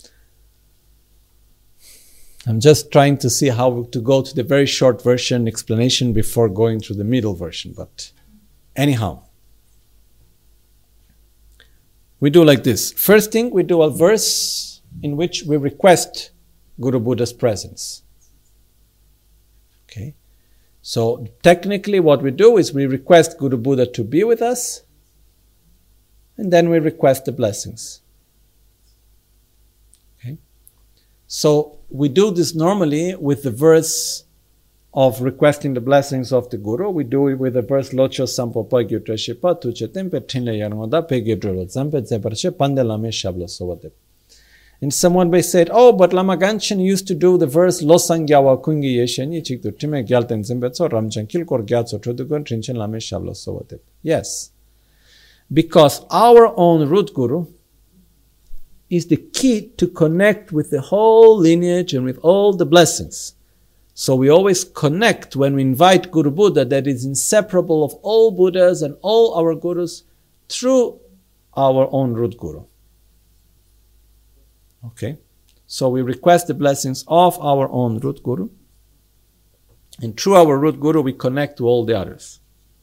I'm just trying to see how to go to the very short version explanation before going to the middle version. But anyhow, we do like this. First thing, we do a verse in which we request Guru Buddha's presence. Okay? So technically what we do is we request Guru Buddha to be with us, and then we request the blessings. Okay? So we do this normally with the verse of requesting the blessings of the Guru. We do it with the verse Locho Sampopa Gyutrashipa Tuchetempe Tinle Yarmoda Pegidrolo Zampe Zeparche Pandelame Shabla Sovate. And someone may say, oh, but Lama Ganchen used to do the verse Losangyawa Kungi Yesheni Chiktu Time Gyalten Zimbetso Ramjan Kilkor Gyatso Trudugun Trinchen Lame Shabla Sovate. Yes. Because our own root Guru is the key to connect with the whole lineage and with all the blessings. So we always connect when we invite Guru Buddha that is inseparable of all Buddhas and all our Gurus through our own root Guru. Okay? So we request the blessings of our own root Guru, and through our root Guru we connect to all the others.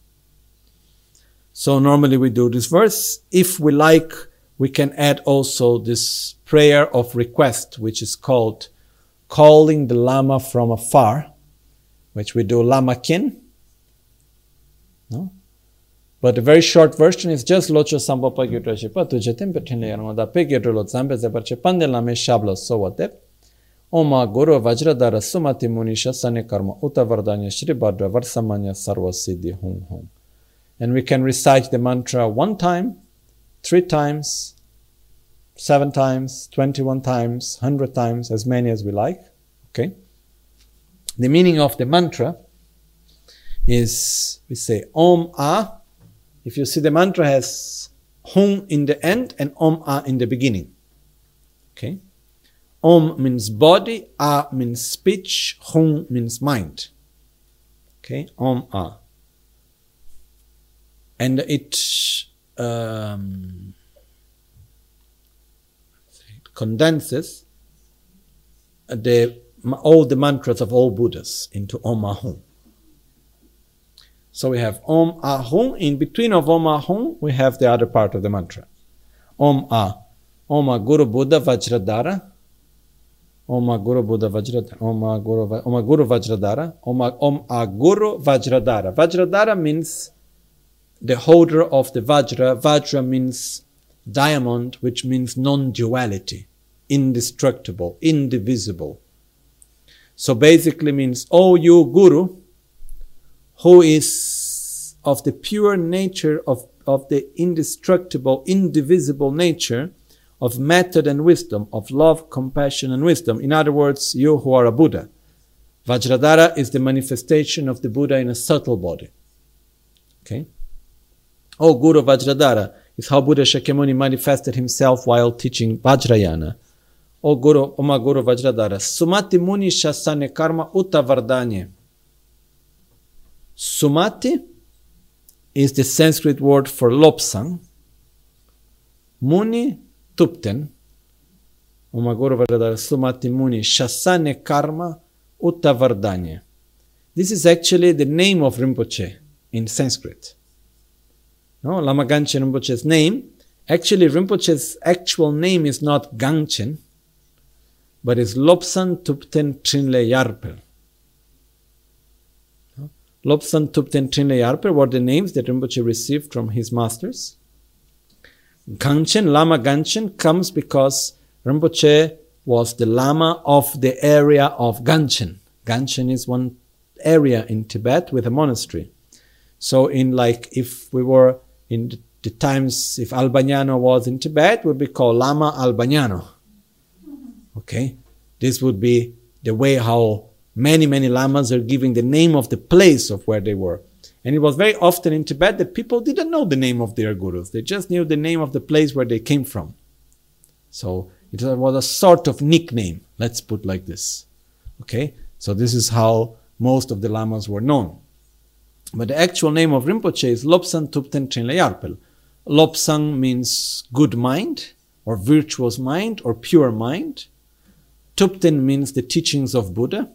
So normally we do this verse. If we like, we can add also this prayer of request, which is called calling the Lama from afar, which we do Lama Kin. No? But the very short version is just Locho Sambapa Gyutrashipa Tujetim Petinle Yarmoda Pegidrolo Zambe Zeparche Pandelame Shabla Sovate. Oma Guru Vajradara Sumati Munisha Sane Karma Uta Vardanya Shri Bhadra Varsamanya Sarva Siddhi Hum Hum. And we can recite the mantra one time, three times, seven times, twenty-one times, one hundred times, as many as we like. Okay? The meaning of the mantra is, we say Om A. If you see, the mantra has Hum in the end and Om A in the beginning. Okay? Om means body, A means speech, Hum means mind. Okay? Om A. And it um, condenses the, all the mantras of all Buddhas into Om Ahum. So we have Om Ahum. In between of Om Ahum, we have the other part of the mantra. Om A. Om Guru Buddha Vajradara. Om Guru Buddha Vajradara. Om Guru, Om Guru Vajradara. Om Om A Guru Vajradara. Vajradara means the holder of the Vajra. Vajra means diamond, which means non-duality, indestructible, indivisible. So basically means, oh, you Guru, who is of the pure nature of, of the indestructible, indivisible nature of method and wisdom, of love, compassion and wisdom. In other words, you who are a Buddha. Vajradara is the manifestation of the Buddha in a subtle body. Okay? Oh, Guru Vajradara is how Buddha Shakyamuni manifested himself while teaching Vajrayana. Oh, Guru, Oma Guru Vajradara. Sumati Muni Shasane Karma Uta Vardanye. Sumati is the Sanskrit word for lobsang. Muni Tupten. Oma Guru Vajradara. Sumati Muni Shasane Karma Uta Vardanye. This is actually the name of Rinpoche in Sanskrit. No, Lama Ganchen Rinpoche's name. Actually, Rinpoche's actual name is not Ganchen, but is Lobsan Tupten Trinle Yarpel. No? Lobsan Tupten Trinle Yarpel were the names that Rinpoche received from his masters. Ganchen, Lama Ganchen, comes because Rinpoche was the Lama of the area of Ganchen. Ganchen is one area in Tibet with a monastery. So in like, if we were in the, the times, if Albagnano was in Tibet, would be called Lama Albagnano. Okay? This would be the way how many, many lamas are giving the name of the place of where they were. And it was very often in Tibet that people didn't know the name of their gurus. They just knew the name of the place where they came from. So it was a sort of nickname, let's put like this. Okay? So this is how most of the lamas were known. But the actual name of Rinpoche is Lobsang Tupten Trinle Yarpel. Lobsang means good mind, or virtuous mind, or pure mind. Tupten means the teachings of Buddha.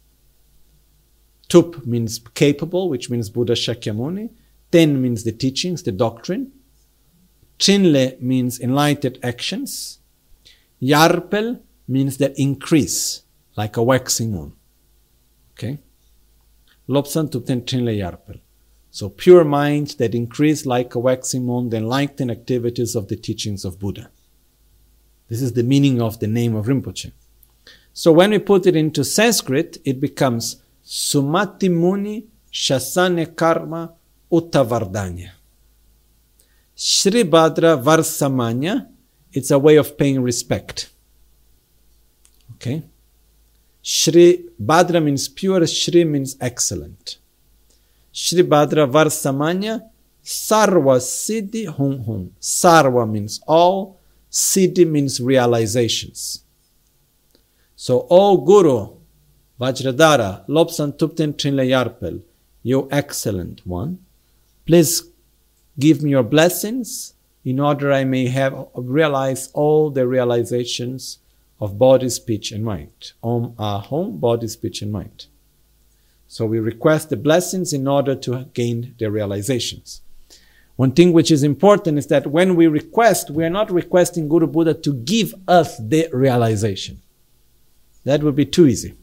Tup means capable, which means Buddha Shakyamuni. Ten means the teachings, the doctrine. Trinle means enlightened actions. Yarpel means that increase, like a waxing moon. Okay? Lobsang Tupten Trinle Yarpel. So pure minds that increase like a waxing moon, the enlightened activities of the teachings of Buddha. This is the meaning of the name of Rinpoche. So when we put it into Sanskrit, it becomes Sumati Muni Shasane Karma Uttavardanya. Shri Bhadra Varsamanya, it's a way of paying respect. Okay? Shri Bhadra means pure, Shri means excellent. Shri Bhadra Varsamanya, Sarva Siddhi Hum Hum. Sarva means all, Siddhi means realizations. So, O Guru, Vajradhara, Lobsang Tupten Trinle Yarpel, you excellent one, please give me your blessings in order I may have realized all the realizations of body, speech, and mind. Om Ahom, body, speech, and mind. So we request the blessings in order to gain the realizations. One thing which is important is that when we request, we are not requesting Guru Buddha to give us the realization. That would be too easy.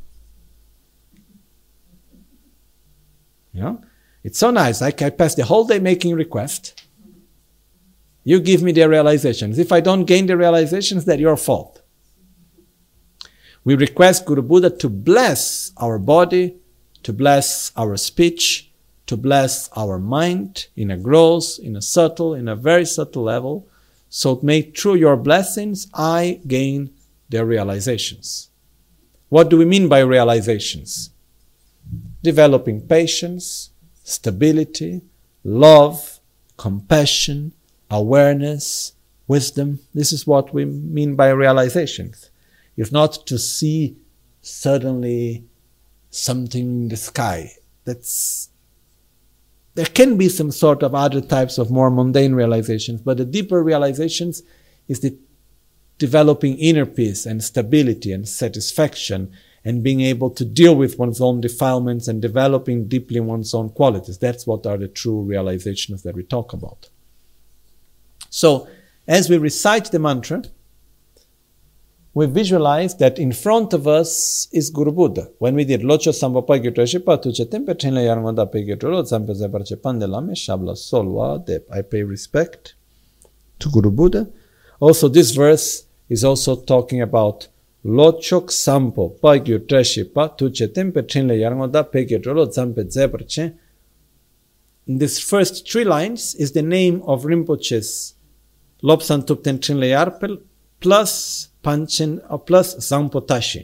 You know? It's so nice. I, I pass the whole day making requests. You give me the realizations. If I don't gain the realizations, that's your fault. We request Guru Buddha to bless our body, to bless our speech, to bless our mind in a gross, in a subtle, in a very subtle level. So may through your blessings, I gain the realizations. What do we mean by realizations? Developing patience, stability, love, compassion, awareness, wisdom. This is what we mean by realizations. It's not to see suddenly something in the sky. That's, there can be some sort of other types of more mundane realizations, but the deeper realizations is the developing inner peace and stability and satisfaction and being able to deal with one's own defilements and developing deeply one's own qualities. That's what are the true realizations that we talk about. So, as we recite the mantra, we visualize that in front of us is Guru Buddha. When we did Locho Sambopa Gyutrashipa tu Chetempe Trinle Yarngoda Pe Gyutrolo Zampe Zeparche Pandelame Shabla Solwa Dep. I pay respect to Guru Buddha. Also, this verse is also talking about Lochok Sampo Pa Gyutrashipa tu Chetempe Trinle Yarngoda Pe Gyutrolo Zampe Zeparche. In these first three lines is the name of Rinpoche's Lobsang Tupten Trinle Yarpel plus Panchen or plus Zampotashi.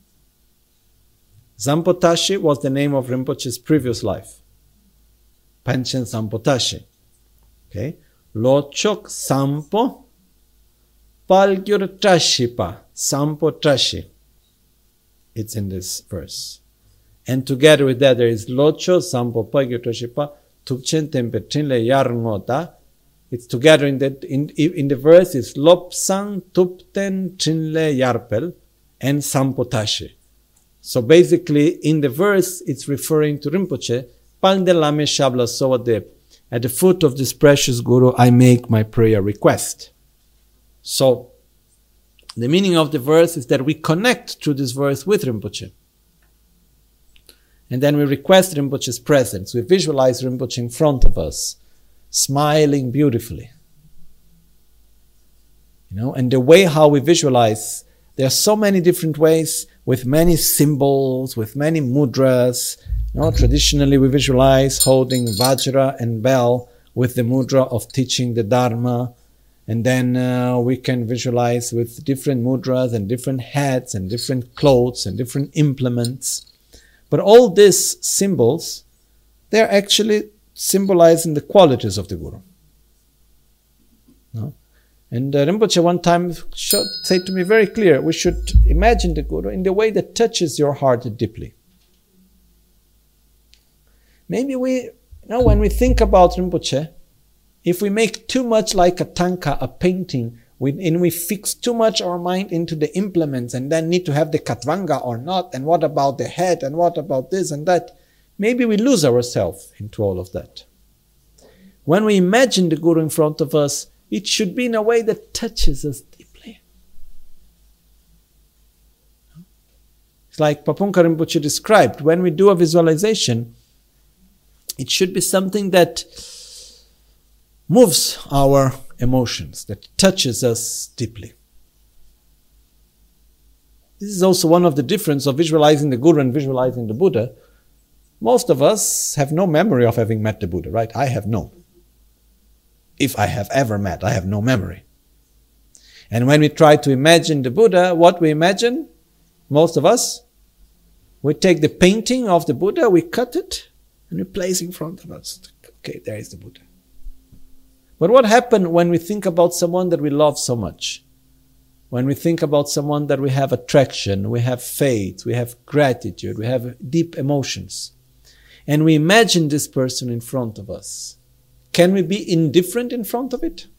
Zampotashi was the name of Rinpoche's previous life. Panchen Zampotashi. Okay. Lochok Sampo Palgyur Trashipa. Sampo Trashi. It's in this verse. And together with that there is Locho Sampo Palgyur Trashipa Tukchen Tempe Trinle Yarngota. It's together in the, in, in the verse is Lobsang Tupten Trinle Yarpel and Sampotashi. So basically in the verse it's referring to Rinpoche, Pandelame Shabla Sowadep. At the foot of this precious Guru I make my prayer request. So the meaning of the verse is that we connect through this verse with Rinpoche. And then we request Rinpoche's presence. We visualize Rinpoche in front of us, smiling beautifully. You know, and the way how we visualize, there are so many different ways with many symbols, with many mudras. You know, traditionally we visualize holding Vajra and bell with the mudra of teaching the Dharma. And then uh, we can visualize with different mudras and different hats and different clothes and different implements. But all these symbols, they're actually symbolizing the qualities of the Guru. No? And uh, Rinpoche one time showed, said to me very clear, we should imagine the Guru in the way that touches your heart deeply. Maybe we, you know, when we think about Rinpoche, if we make too much like a tanka, a painting, we, and we fix too much our mind into the implements and then need to have the katvanga or not, and what about the head, and what about this and that, maybe we lose ourselves into all of that. When we imagine the Guru in front of us, it should be in a way that touches us deeply. It's like Papunka Rinpoche described, when we do a visualization, it should be something that moves our emotions, that touches us deeply. This is also one of the differences of visualizing the Guru and visualizing the Buddha. Most of us have no memory of having met the Buddha, right? I have no. If I have ever met, I have no memory. And when we try to imagine the Buddha, what we imagine, most of us, we take the painting of the Buddha, we cut it, and we place in front of us. Okay, there is the Buddha. But what happens when we think about someone that we love so much? When we think about someone that we have attraction, we have faith, we have gratitude, we have deep emotions, and we imagine this person in front of us, can we be indifferent in front of it?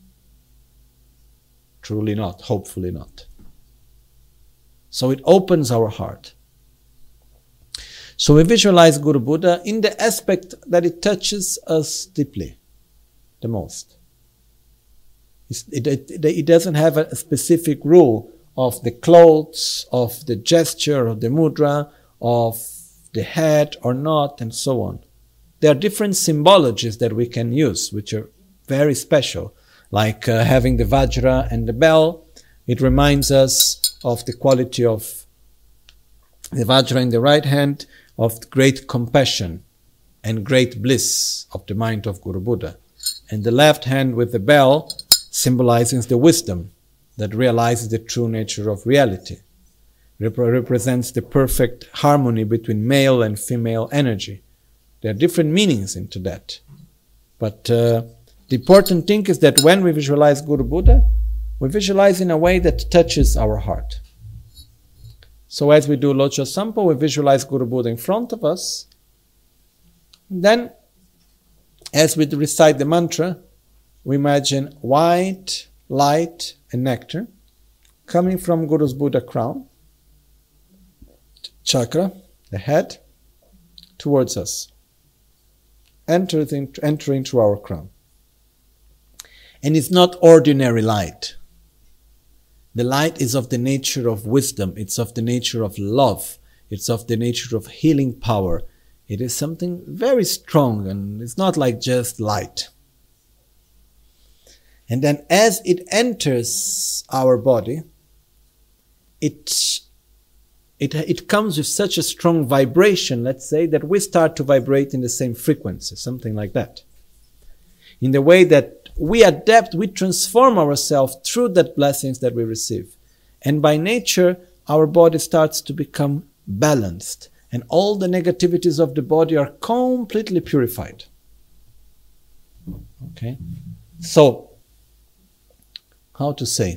Truly not, hopefully not. So it opens our heart. So we visualize Guru Buddha in the aspect that it touches us deeply, the most. It, it, it doesn't have a specific rule of the clothes, of the gesture, of the mudra, of the head or not, and so on. There are different symbologies that we can use, which are very special, like uh, having the Vajra and the bell. It reminds us of the quality of the Vajra in the right hand, of great compassion and great bliss of the mind of Guru Buddha. And the left hand with the bell symbolizes the wisdom that realizes the true nature of reality. Rep- represents the perfect harmony between male and female energy. There are different meanings into that. But uh, the important thing is that when we visualize Guru Buddha, we visualize in a way that touches our heart. So as we do Lojong Sampo, we visualize Guru Buddha in front of us. Then, as we recite the mantra, we imagine white light and nectar coming from Guru's Buddha crown, chakra, the head, towards us, entering, entering through our crown. And it's not ordinary light. The light is of the nature of wisdom, it's of the nature of love, it's of the nature of healing power. It is something very strong, and it's not like just light. And then as it enters our body, it, it, it comes with such a strong vibration, let's say, that we start to vibrate in the same frequency, something like that. In the way that we adapt, we transform ourselves through that blessings that we receive. And by nature, our body starts to become balanced. And all the negativities of the body are completely purified. Okay? So, how to say?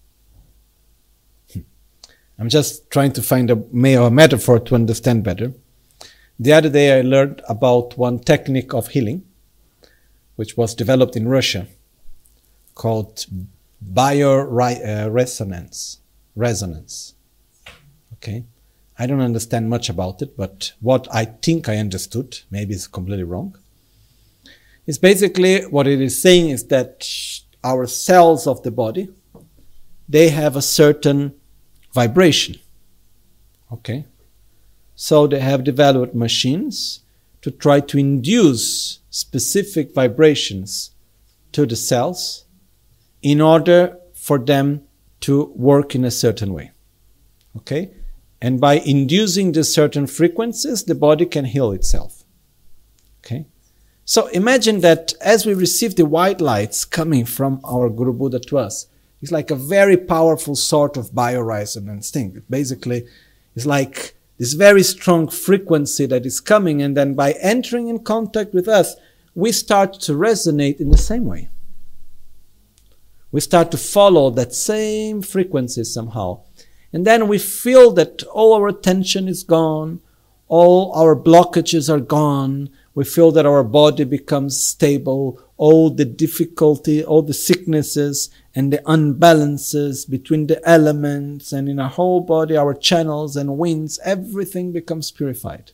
I'm just trying to find a, a metaphor to understand better. The other day I learned about one technique of healing, which was developed in Russia, called bioresonance. Resonance. Okay? I don't understand much about it, but what I think I understood, maybe it's completely wrong, is basically what it is saying is that our cells of the body, they have a certain vibration. Okay? So they have developed machines to try to induce specific vibrations to the cells in order for them to work in a certain way. Okay? And by inducing the certain frequencies, the body can heal itself. Okay? So imagine that as we receive the white lights coming from our Guru Buddha to us, it's like a very powerful sort of bioresonance thing. Basically, it's like this very strong frequency that is coming, and then by entering in contact with us, we start to resonate in the same way. We start to follow that same frequency somehow. And then we feel that all our tension is gone, all our blockages are gone. We feel that our body becomes stable, all the difficulty, all the sicknesses and the unbalances between the elements and in our whole body, our channels and winds, everything becomes purified.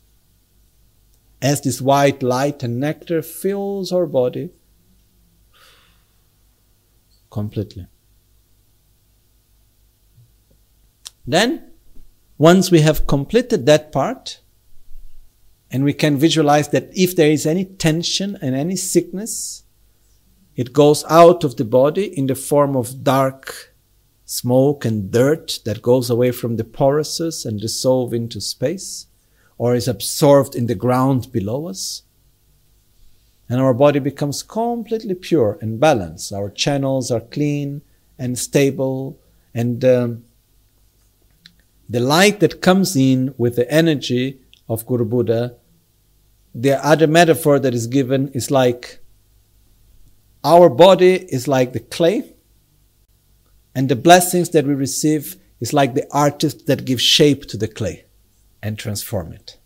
As this white light and nectar fills our body completely. Then, once we have completed that part, and we can visualize that if there is any tension and any sickness, it goes out of the body in the form of dark smoke and dirt that goes away from the porousness and dissolve into space, or is absorbed in the ground below us. And our body becomes completely pure and balanced. Our channels are clean and stable, and um, the light that comes in with the energy of Guru Buddha, the other metaphor that is given is like our body is like the clay, and the blessings that we receive is like the artist that gives shape to the clay and transform it.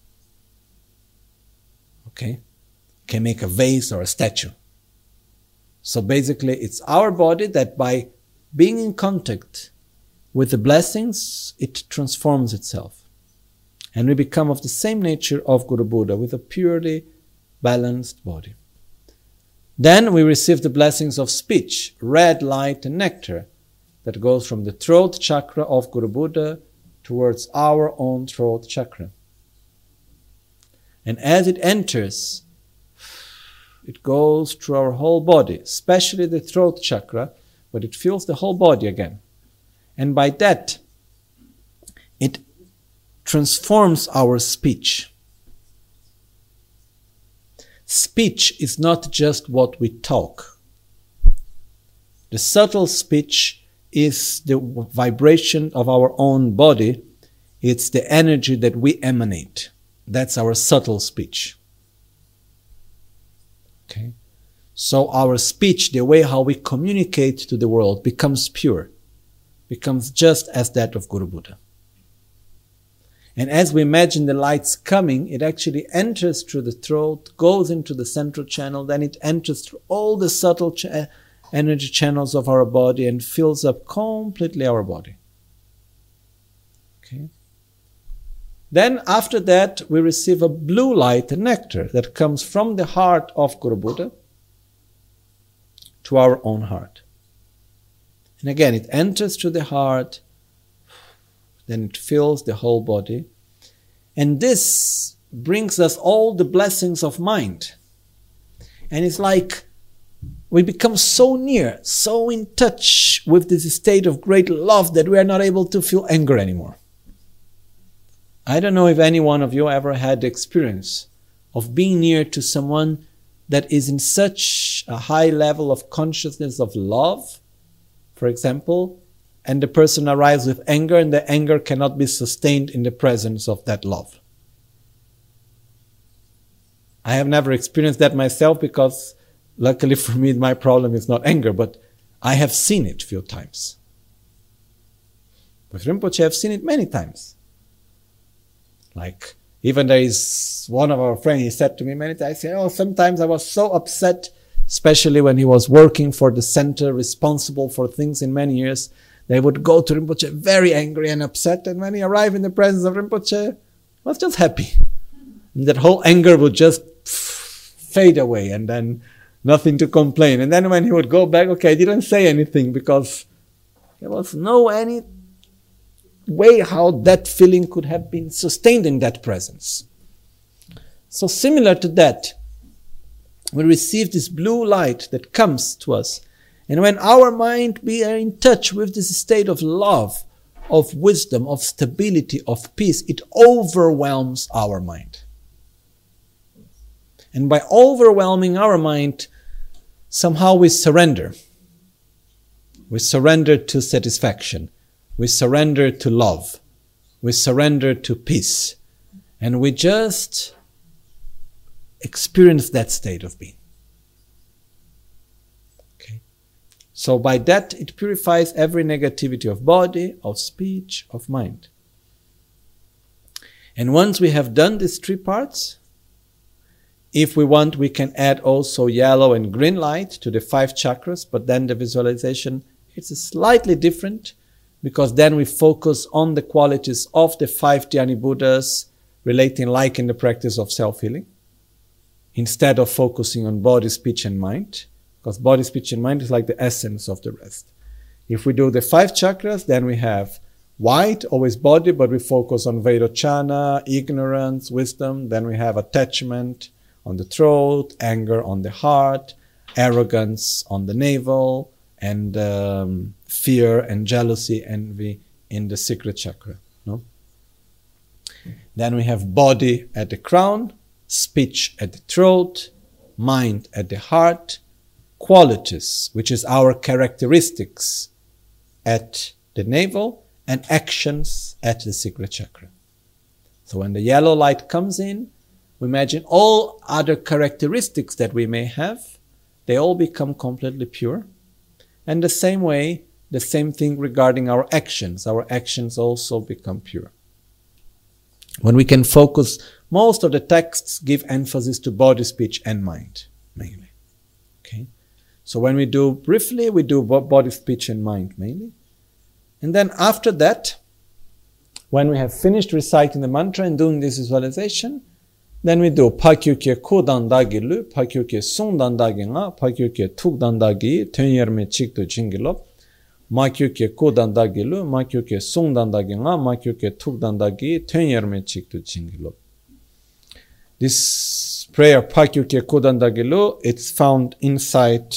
Okay? Can make a vase or a statue. So basically it's our body that by being in contact with the blessings, it transforms itself. And we become of the same nature of Guru Buddha with a purely balanced body. Then we receive the blessings of speech, red light and nectar that goes from the throat chakra of Guru Buddha towards our own throat chakra. And as it enters, it goes through our whole body, especially the throat chakra, but it fills the whole body again. And by that, it transforms our speech. Speech is not just what we talk. The subtle speech is the vibration of our own body. It's the energy that we emanate. That's our subtle speech. Okay? So our speech, the way how we communicate to the world, becomes pure, becomes just as that of Guru Buddha. And as we imagine the lights coming, it actually enters through the throat, goes into the central channel, then it enters through all the subtle ch- energy channels of our body and fills up completely our body. Okay. Then after that, we receive a blue light, a nectar, that comes from the heart of Guru Buddha to our own heart. And again, it enters through the heart, then it fills the whole body. And this brings us all the blessings of mind. And it's like we become so near, so in touch with this state of great love that we are not able to feel anger anymore. I don't know if any one of you ever had the experience of being near to someone that is in such a high level of consciousness of love, for example, and the person arrives with anger and the anger cannot be sustained in the presence of that love. I have never experienced that myself because luckily for me my problem is not anger, but I have seen it a few times. With Rinpoche I have seen it many times. Like, even there is one of our friends, he said to me many times, oh, sometimes I was so upset, especially when he was working for the center, responsible for things in many years. They would go to Rinpoche very angry and upset, and when he arrived in the presence of Rinpoche, was just happy. And that whole anger would just fade away, and then nothing to complain. And then when he would go back, okay, I didn't say anything because there was no any way how that feeling could have been sustained in that presence. So similar to that, we receive this blue light that comes to us. And when our mind be in touch with this state of love, of wisdom, of stability, of peace, it overwhelms our mind. And by overwhelming our mind, somehow we surrender. We surrender to satisfaction. We surrender to love. We surrender to peace. And we just experience that state of being. Okay. So by that, it purifies every negativity of body, of speech, of mind. And once we have done these three parts, if we want, we can add also yellow and green light to the five chakras, but then the visualization is slightly different, because then we focus on the qualities of the five Dhyani Buddhas relating like in the practice of self-healing, instead of focusing on body, speech and mind, because body, speech and mind is like the essence of the rest. If we do the five chakras, then we have white, always body, but we focus on Vairochana, ignorance, wisdom. Then we have attachment on the throat, anger on the heart, arrogance on the navel, and um, fear and jealousy, envy in the secret chakra. No? Then we have body at the crown, speech at the throat, mind at the heart, qualities, which is our characteristics, at the navel, and actions at the secret chakra. So when the yellow light comes in, we imagine all other characteristics that we may have, they all become completely pure. And the same way, the same thing regarding our actions. Our actions also become pure. When we can focus, most of the texts give emphasis to body, speech, and mind, mainly. Okay? So when we do briefly, we do body, speech, and mind mainly. And then after that, when we have finished reciting the mantra and doing this visualization, then we do Pakyukye Kudandagi Lu, Pakyukye Sundandagi Nga, Pakyukye Tukdandagi, Tenyerme Chikto Jingilop, Makyukye Kudandagi Lu, Makyukye Sundandagi Nga, Makyukye Tukdandagi, Tenyerme Chikto Jingilop. This prayer, Pakyukye Kudandagi Lu, it's found inside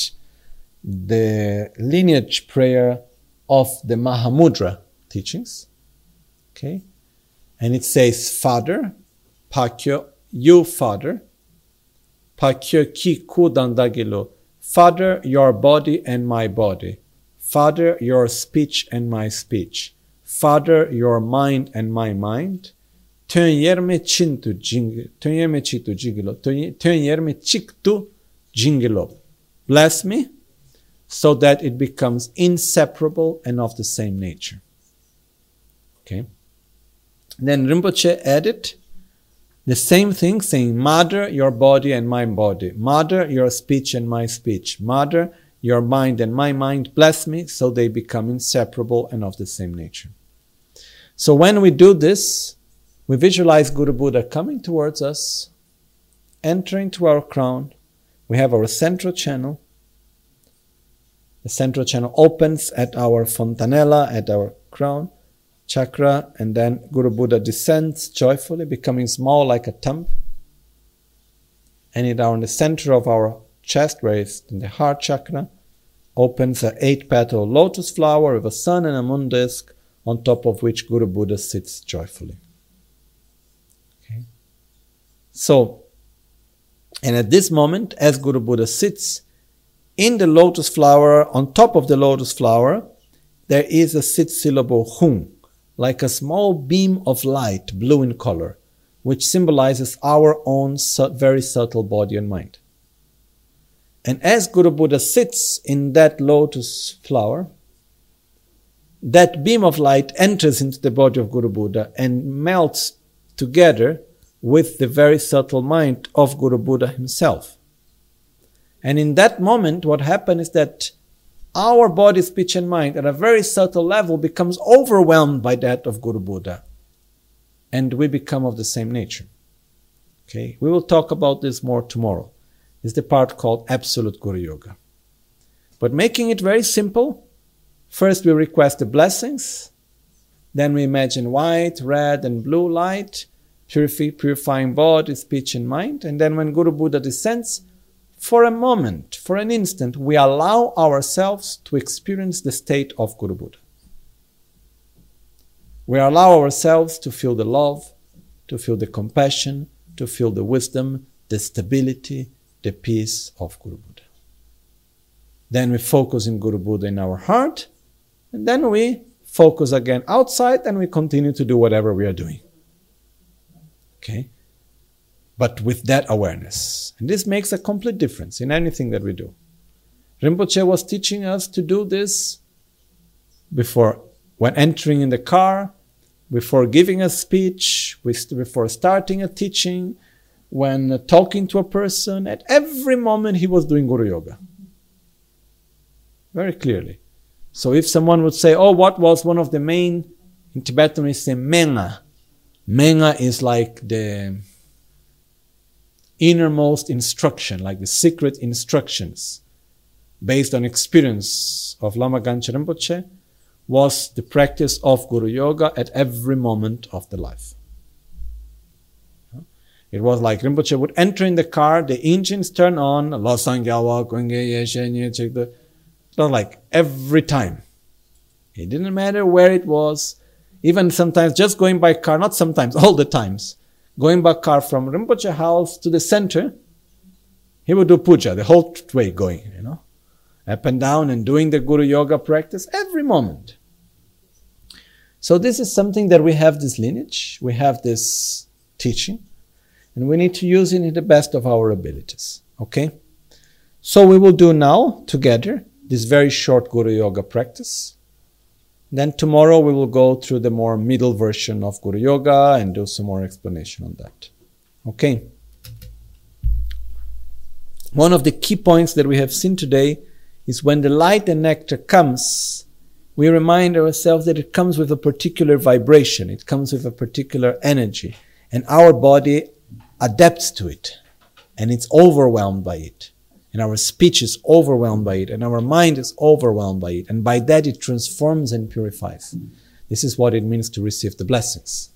the lineage prayer of the Mahamudra teachings. Okay? And it says, Father, Pakyo, you Father, Pakyo ki kudandagilo, Father, your body and my body, Father, your speech and my speech, Father, your mind and my mind, Tenyerme chintu jingilo, Tenyerme chitu jingilo, Tenyerme chiktu jingilo. Bless me, so that it becomes inseparable and of the same nature. Okay? Then Rinpoche added the same thing, saying, Mother, your body and my body. Mother, your speech and my speech. Mother, your mind and my mind. Bless me, so they become inseparable and of the same nature. So when we do this, we visualize Guru Buddha coming towards us, entering to our crown. We have our central channel. The central channel opens at our fontanella, at our crown chakra, and then Guru Buddha descends joyfully, becoming small like a thumb. And it in the center of our chest, where it's in the heart chakra, opens an eight-petal lotus flower with a sun and a moon disk, on top of which Guru Buddha sits joyfully. Okay. So, and at this moment, as Guru Buddha sits in the lotus flower, on top of the lotus flower, there is a six-syllable hum, like a small beam of light, blue in color, which symbolizes our own su- very subtle body and mind. And as Guru Buddha sits in that lotus flower, that beam of light enters into the body of Guru Buddha and melts together with the very subtle mind of Guru Buddha himself. And in that moment, what happens is that our body, speech and mind at a very subtle level becomes overwhelmed by that of Guru Buddha. And we become of the same nature. Okay, we will talk about this more tomorrow. This is the part called Absolute Guru Yoga. But making it very simple, first we request the blessings, then we imagine white, red and blue light, purify, purifying body, speech and mind, and then when Guru Buddha descends, for a moment, for an instant, we allow ourselves to experience the state of Guru Buddha. We allow ourselves to feel the love, to feel the compassion, to feel the wisdom, the stability, the peace of Guru Buddha. Then we focus in Guru Buddha in our heart, and then we focus again outside and we continue to do whatever we are doing. Okay? but with that awareness. And this makes a complete difference in anything that we do. Rinpoche was teaching us to do this before, when entering in the car, before giving a speech, before starting a teaching, when talking to a person. At every moment he was doing Guru Yoga. Very clearly. So if someone would say, oh, what was one of the main, in Tibetan we say Menga. Menga is like the innermost instruction, like the secret instructions based on experience of Lama Gangchen Rinpoche, was the practice of Guru Yoga at every moment of the life. It was like Rinpoche would enter in the car, the engines turn on, not like every time. It didn't matter where it was, even sometimes just going by car, not sometimes, all the times, going by car from Rinpoche house to the center, he would do puja the whole way going, you know, up and down and doing the Guru Yoga practice every moment. So this is something that we have this lineage, we have this teaching, and we need to use it in the best of our abilities. Okay? So we will do now together this very short Guru Yoga practice. Then tomorrow we will go through the more middle version of Guru Yoga and do some more explanation on that. Okay? One of the key points that we have seen today is when the light and nectar comes, we remind ourselves that it comes with a particular vibration, it comes with a particular energy, and our body adapts to it, and it's overwhelmed by it, and our speech is overwhelmed by it, and our mind is overwhelmed by it, and by that it transforms and purifies. This is what it means to receive the blessings.